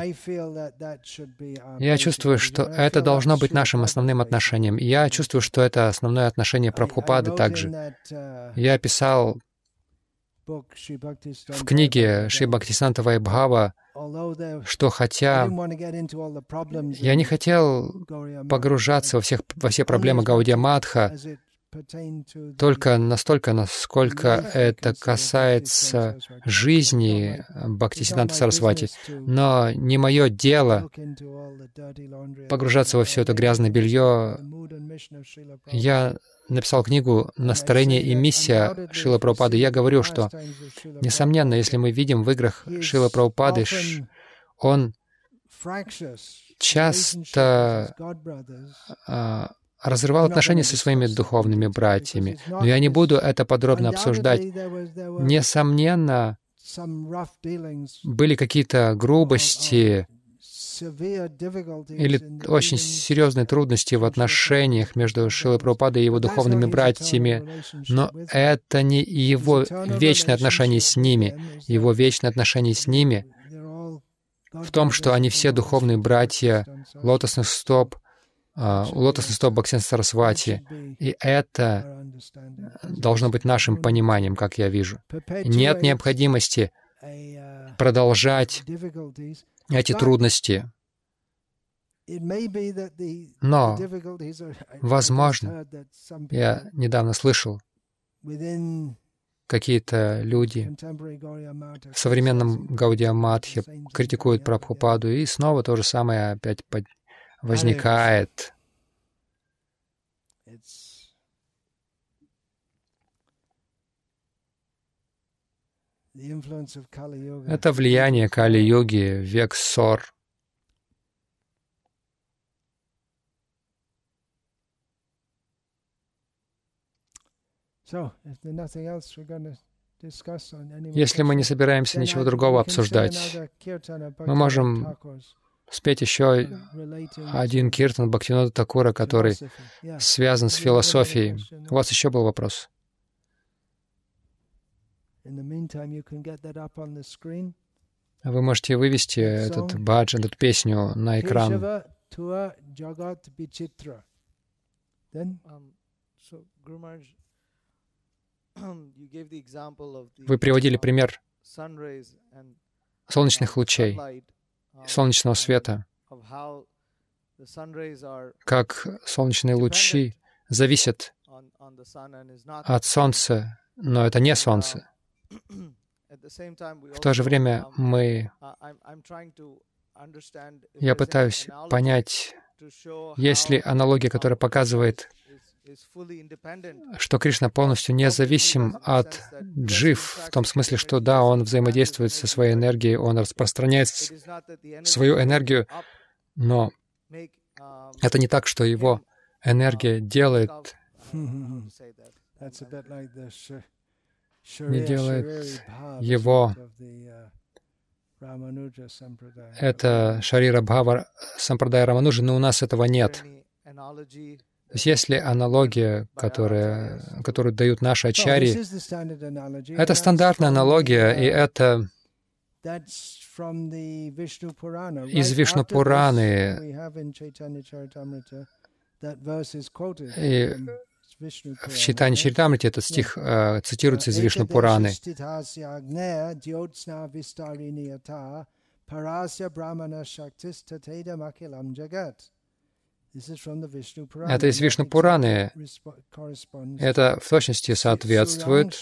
Я чувствую, что это должно быть нашим основным отношением. Я чувствую, что это основное отношение Прабхупады также. Я писал в книге Шри Бхактисиданта Вайбхава, что хотя я не хотел погружаться во все проблемы Гаудия Мадха, только настолько, насколько это касается жизни Бхактисиданта Сарасвати. Но не мое дело погружаться во все это грязное белье. Я написал книгу «Настроение и миссия» Шрилы Прабхупады. Я говорю, что, несомненно, если мы видим в играх Шрилы Прабхупады, он часто разрывал отношения со своими духовными братьями. Но я не буду это подробно обсуждать. Несомненно, были какие-то грубости или очень серьезные трудности в отношениях между Шрилой Прабхупадой и его духовными братьями, но это не его вечное отношение с ними. Его вечное отношение с ними в том, что они все духовные братья лотосных стоп Бхактисиданта Сарасвати. И это должно быть нашим пониманием, как я вижу. Нет необходимости продолжать эти трудности. Но, возможно, я недавно слышал, какие-то люди в современном Гаудия Мадхе критикуют Прабхупаду, и снова то же самое опять возникает. Это влияние Кали-йоги в век ссор. Если мы не собираемся ничего другого обсуждать, мы можем спеть еще один киртан Бхактивинода Такура, который связан с философией. У вас еще был вопрос? Вы можете вывести этот баджан, эту песню на экран. Вы приводили пример солнечных лучей, солнечного света, как солнечные лучи зависят от Солнца, но это не Солнце. В то же время я пытаюсь понять, есть ли аналогия, которая показывает, что Кришна полностью независим от джив, в том смысле, что да, он взаимодействует со своей энергией, он распространяет свою энергию, но это не так, что его энергия делает, не делает его. Это Шарира Бхава Сампрадая Рамануджа, но у нас этого нет. То есть есть ли аналогия, которую дают наши ачарьи? Это стандартная аналогия, и это из Вишну Пураны. И в Чайтанья Чаритамрите этот стих цитируется из Вишну Пураны. Это из Вишну Пураны. Это в точности соответствует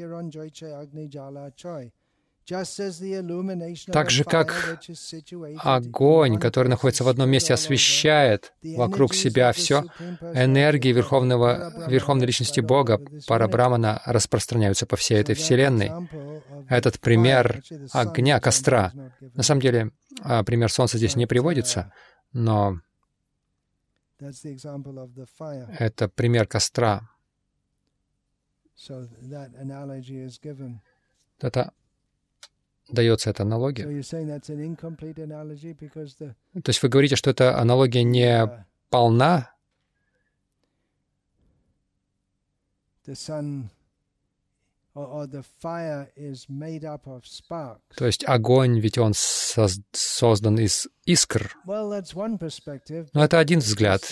так же, как огонь, который находится в одном месте, освещает вокруг себя все, энергии Верховной Личности Бога, Парабрамана, распространяются по всей этой Вселенной. Этот пример огня, костра. На самом деле, пример Солнца здесь не приводится, но это пример костра. Это дается эта аналогия. То есть вы говорите, что эта аналогия не полна? То есть огонь, ведь он создан из искр. Но это один взгляд.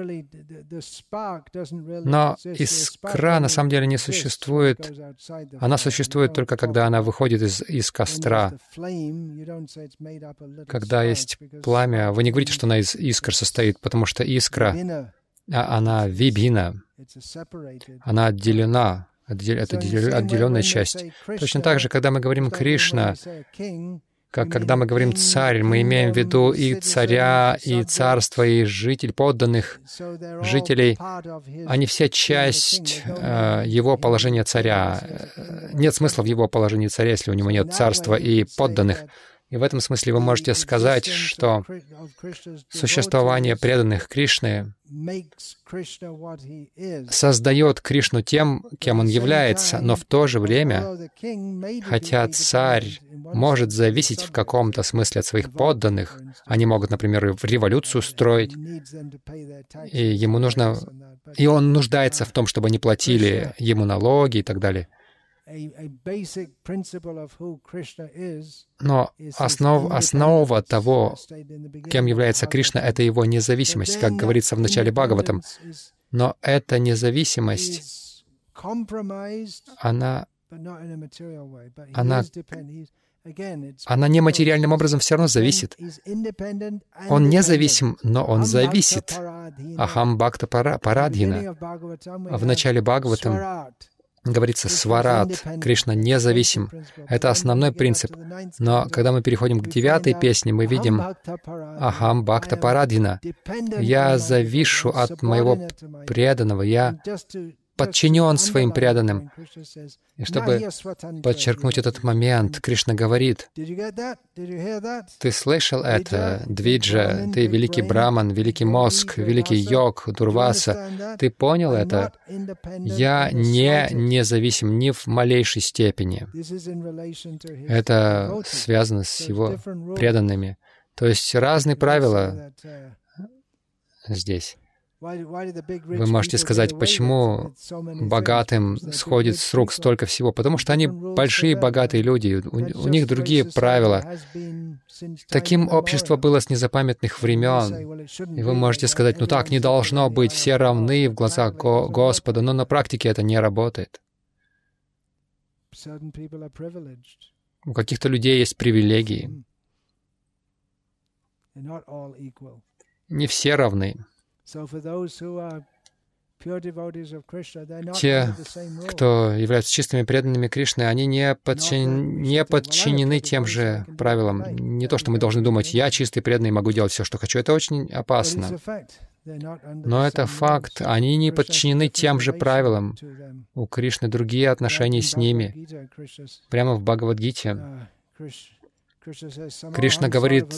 Но искра на самом деле не существует. Она существует только когда она выходит из костра. Когда есть пламя, вы не говорите, что она из искр состоит, потому что искра, она вибхина, она отделена. Это отделенная часть. Точно так же, когда мы говорим «Кришна», как когда мы говорим «царь», мы имеем в виду и царя, и царство, и жителей, подданных жителей. Они все часть его положения царя. Нет смысла в его положении царя, если у него нет царства и подданных. И в этом смысле вы можете сказать, что существование преданных Кришны создает Кришну тем, кем он является, но в то же время, хотя царь может зависеть в каком-то смысле от своих подданных, они могут, например, революцию строить, и он нуждается в том, чтобы они платили ему налоги и так далее. Но основа того, кем является Кришна, это его независимость, как говорится в начале Бхагаватам. Но эта независимость, она нематериальным образом все равно зависит. Он независим, но он зависит. Ахам бхакта парадхина. В начале Бхагаватам говорится «сварат», Кришна независим. Это основной принцип. Но когда мы переходим к 9-й песне, мы видим «Ахам бхакта парадхина». Я завишу от моего преданного, я подчинен своим преданным. И чтобы подчеркнуть этот момент, Кришна говорит: «Ты слышал это, Двиджа, ты великий Браман, великий мозг, великий йог, Дурваса, ты понял это? Я не независим ни в малейшей степени». Это связано с его преданными. То есть разные правила здесь. Вы можете сказать, почему богатым сходит с рук столько всего? Потому что они большие, богатые люди, у них другие правила. Таким общество было с незапамятных времен. И вы можете сказать, ну так не должно быть, все равны в глазах Господа, но на практике это не работает. У каких-то людей есть привилегии. Не все равны. Те, кто являются чистыми преданными Кришны, они не подчинены тем же правилам. Не то, что мы должны думать, я чистый преданный, могу делать все, что хочу. Это очень опасно. Но это факт. Они не подчинены тем же правилам. У Кришны другие отношения с ними. Прямо в Бхагавад-гите Кришна говорит,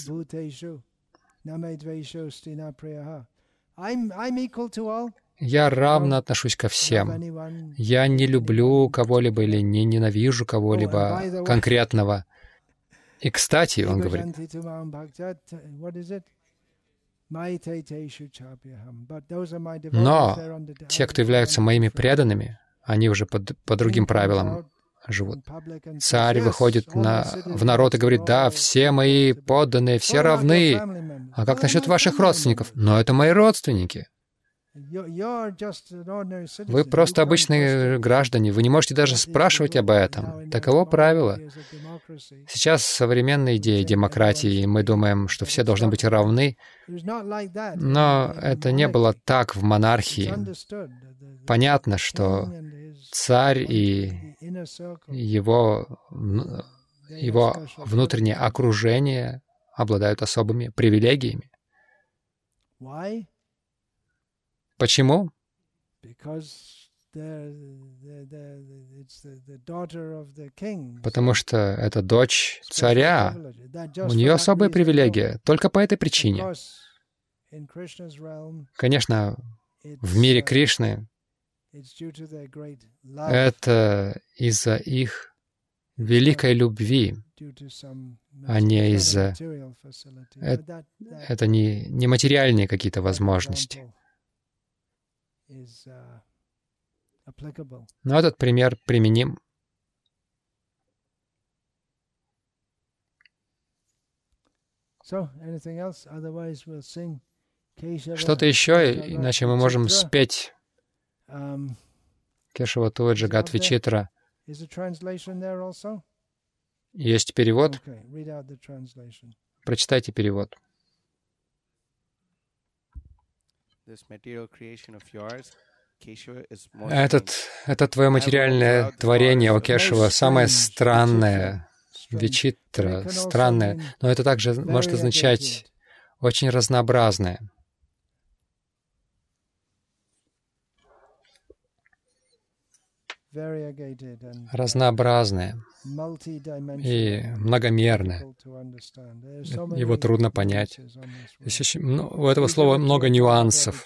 «Я равно отношусь ко всем. Я не люблю кого-либо или не ненавижу кого-либо конкретного». И, кстати, он говорит, но те, кто являются моими преданными, они уже по другим правилам живут. Царь выходит в народ и говорит, да, все мои подданные, все равны. А как насчет ваших родственников? Но это мои родственники. Вы просто обычные граждане, вы не можете даже спрашивать об этом. Таково правило. Сейчас современные идеи демократии, и мы думаем, что все должны быть равны, но это не было так в монархии. Понятно, что царь и его внутреннее окружение обладают особыми привилегиями. Почему? Потому что это дочь царя. У нее особая привилегия. Только по этой причине. Конечно, в мире Кришны это из-за их великой любви, а не из-за... Это не материальные какие-то возможности. Но этот пример применим. Что-то еще, иначе мы можем спеть Кешава Туа Джагат Вичитра. Есть перевод? Прочитайте перевод. Это твое материальное творение, о Кешава, самое странное, Вичитра, странное, но это также может означать очень разнообразное. Разнообразное и многомерное. Его трудно понять. У этого слова много нюансов.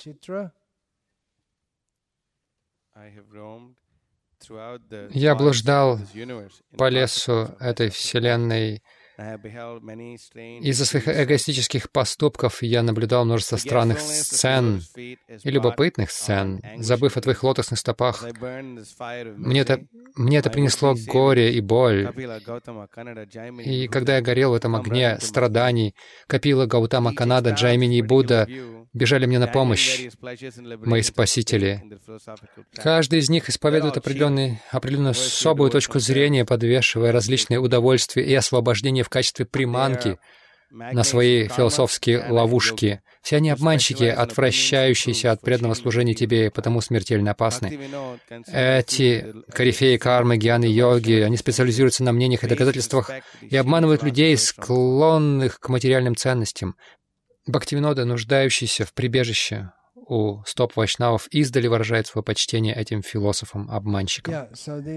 Я блуждал по лесу этой Вселенной. Из-за своих эгоистических поступков я наблюдал множество странных сцен и любопытных сцен. Забыв о твоих лотосных стопах, мне это принесло горе и боль. И когда я горел в этом огне страданий, Капила, Гаутама, Канада, Джаймини и Будда бежали мне на помощь, мои спасители. Каждый из них исповедует определенную особую точку зрения, подвешивая различные удовольствия и освобождение в качестве приманки на свои философские ловушки. Все они обманщики, отвращающиеся от преданного служения Тебе, и потому смертельно опасны. Эти корифеи кармы, гьяны, йоги, они специализируются на мнениях и доказательствах и обманывают людей, склонных к материальным ценностям. Бхактивинода, нуждающийся в прибежище у стоп вайшнавов, издали выражает свое почтение этим философам-обманщикам.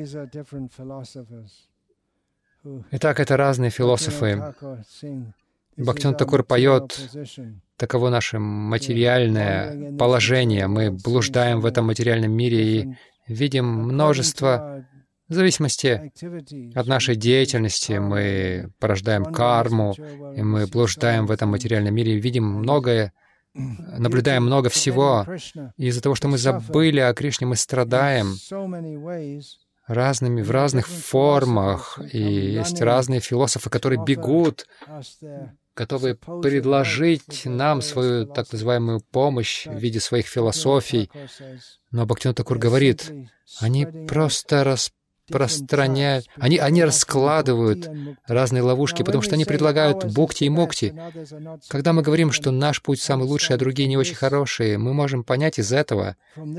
Итак, это разные философы. Бхактивинода Такур поет, таково наше материальное положение. Мы блуждаем в этом материальном мире и видим множество, в зависимости от нашей деятельности, мы порождаем карму, и мы блуждаем в этом материальном мире и видим многое наблюдаем много всего. И из-за того, что мы забыли о Кришне, мы страдаем в разных формах. И есть разные философы, которые бегут, готовы предложить нам свою так называемую помощь в виде своих философий. Но Бхактивинода Такур говорит, они просто распространяют, они раскладывают разные ловушки, потому что они предлагают бхукти и мукти. Когда мы говорим, что наш путь самый лучший, а другие не очень хорошие, мы можем понять из этого.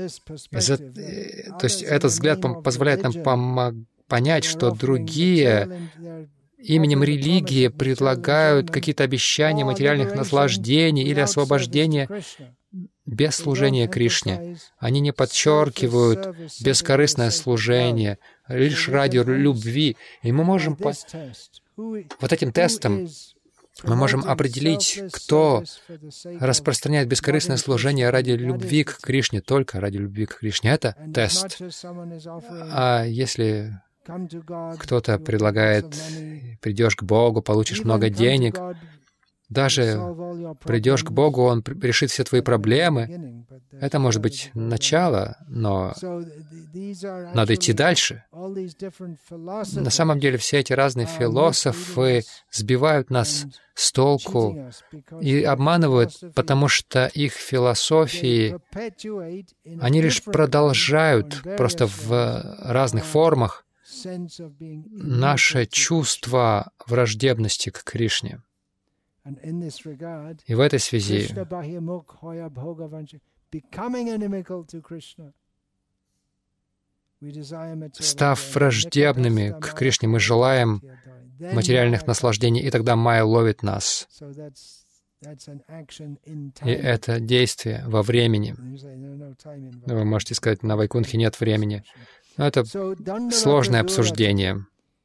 То есть этот взгляд позволяет нам понять, что другие именем религии предлагают какие-то обещания материальных наслаждений или освобождения без служения Кришне. Они не подчеркивают бескорыстное служение лишь ради любви. И мы можем вот этим тестом мы можем определить, кто распространяет бескорыстное служение ради любви к Кришне, только ради любви к Кришне. Это тест. А если кто-то предлагает, придешь к Богу, получишь много денег, даже придешь к Богу, Он решит все твои проблемы. Это может быть начало, но надо идти дальше. На самом деле все эти разные философы сбивают нас с толку и обманывают, потому что их философии, они лишь продолжают просто в разных формах наше чувство враждебности к Кришне. И в этой связи, став враждебными к Кришне, мы желаем материальных наслаждений, и тогда майя ловит нас. И это действие во времени. Вы можете сказать, на Вайкунтхе нет времени. Но это сложное обсуждение.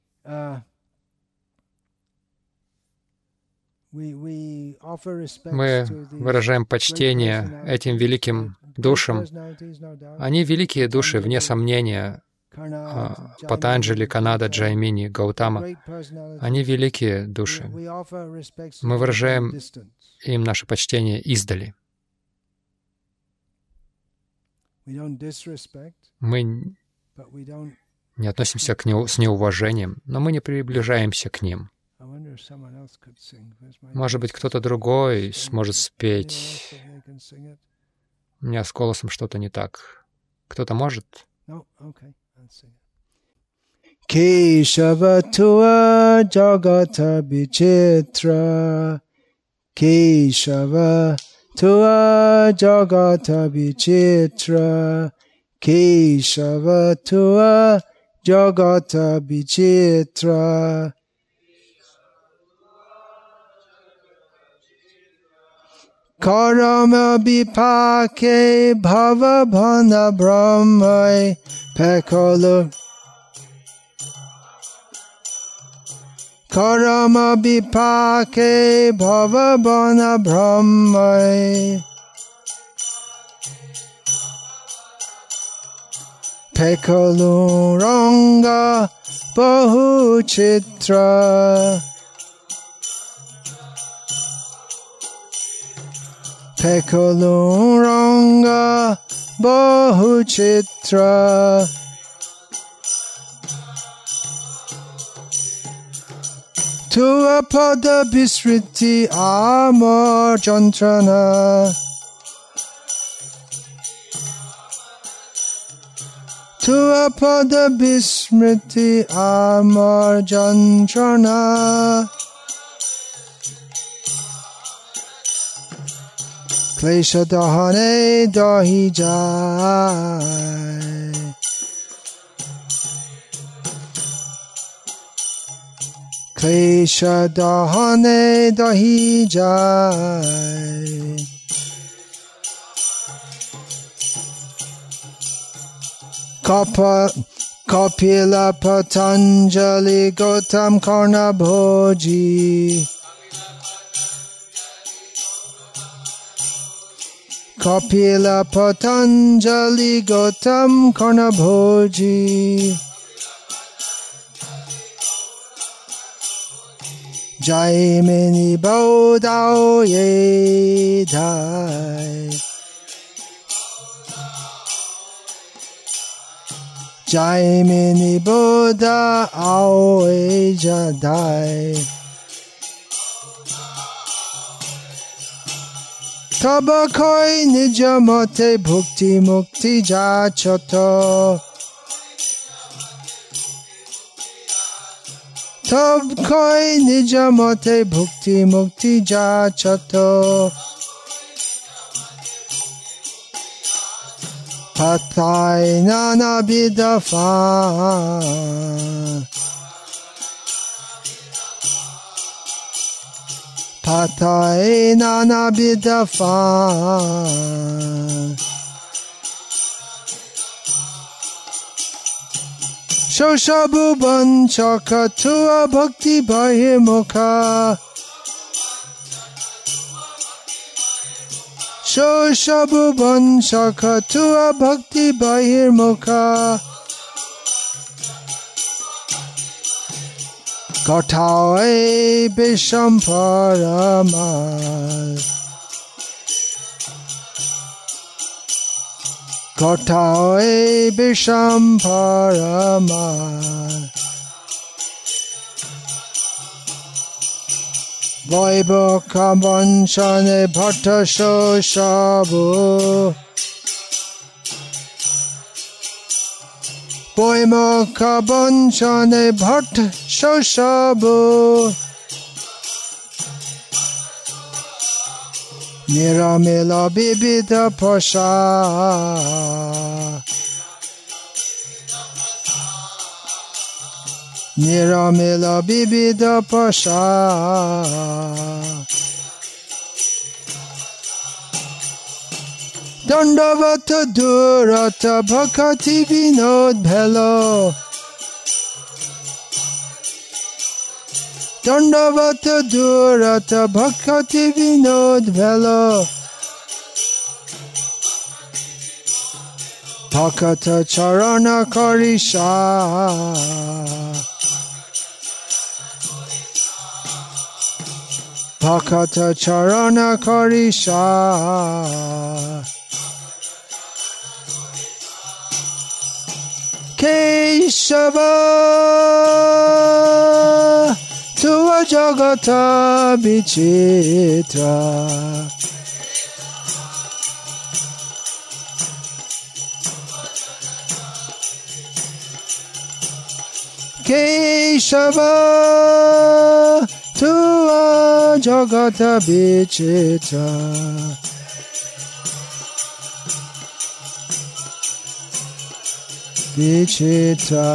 Мы выражаем почтение этим великим душам. Они великие души, вне сомнения. Патанджали, Канада, Джаймини, Гаутама. Они великие души. Мы выражаем им наше почтение издали. Мы не относимся к ним с неуважением, но мы не приближаемся к ним. Может быть, кто-то другой сможет спеть. У меня с голосом что-то не так. Кто-то может? Keshava Tua Jagata Vichitra Keshava Tua Jagata Vichitra Keshava Tua Jagata Vichitra Karama Vipake Bhava Bhana Brahmai Pekala Karama Vipake Bhava Bhana Brahmai Pekalu Ranga Bahu Chitra Pekalu Ranga Bahu Chitra Tua Pada Bisriti Amar Jantrana Tua Pada Bismriti Amar Jantrana Klesha Dahane Dahi Jai Klesha Dahane Dahi Jai Kapila Patanjali Gautam Karna Bhoji Kapila Patanjali Gautam Karna Bhoji Jaimini Bodao Ye Dai Jaimini Buddha Aoi Jadai Taba Koi Nijamate Bhukti Mukti Jachoto Tab Koi Nijamate Bhukti Mukti Jachoto Patai Nana Bidafa Patai Nana Bidafa Shoshabu Banchaka Tua Bhakti Bahimukha Shoshabu Banchaka Tua Bhakti Bahimukha Katae Bishamparama Katae Bishamparama Vaibhaka Vanchane Bhatta Shoshabu Vaibhaka Vanchane Bhatta Shoshabu Niramila Bibita Pasha Niramila Bibita Pasha Dandavata Durata Bhakati Vinod Bhelo Dandavata Durata Bhakati Vinod Bhelo Bhakata Charana Karisha Bhakata Charana Karisha Keshava Tua Jagata Vichitra Keshava Tua Jagata Vichitra Vichitra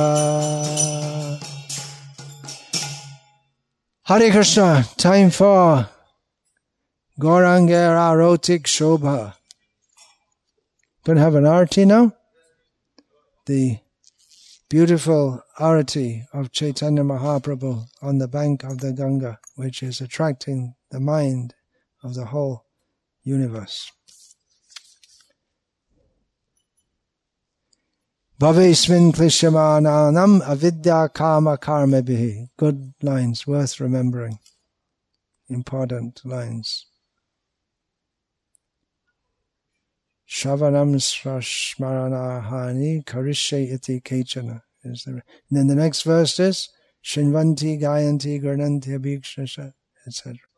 Hare Krishna, time for Gauranga Arotik Shobha. Going to have an arati now. The beautiful arati of Chaitanya Mahaprabhu on the bank of the Ganga, which is attracting the mind of the whole universe. Bhavesmin Klishyamananam avidya kama karmabhihi. Good lines, worth remembering. Important lines. Shavanam smaranahani karishe iti kechana. And then the next verse is Shinvanti Gayanti Garnanti Abhikshasha, etc.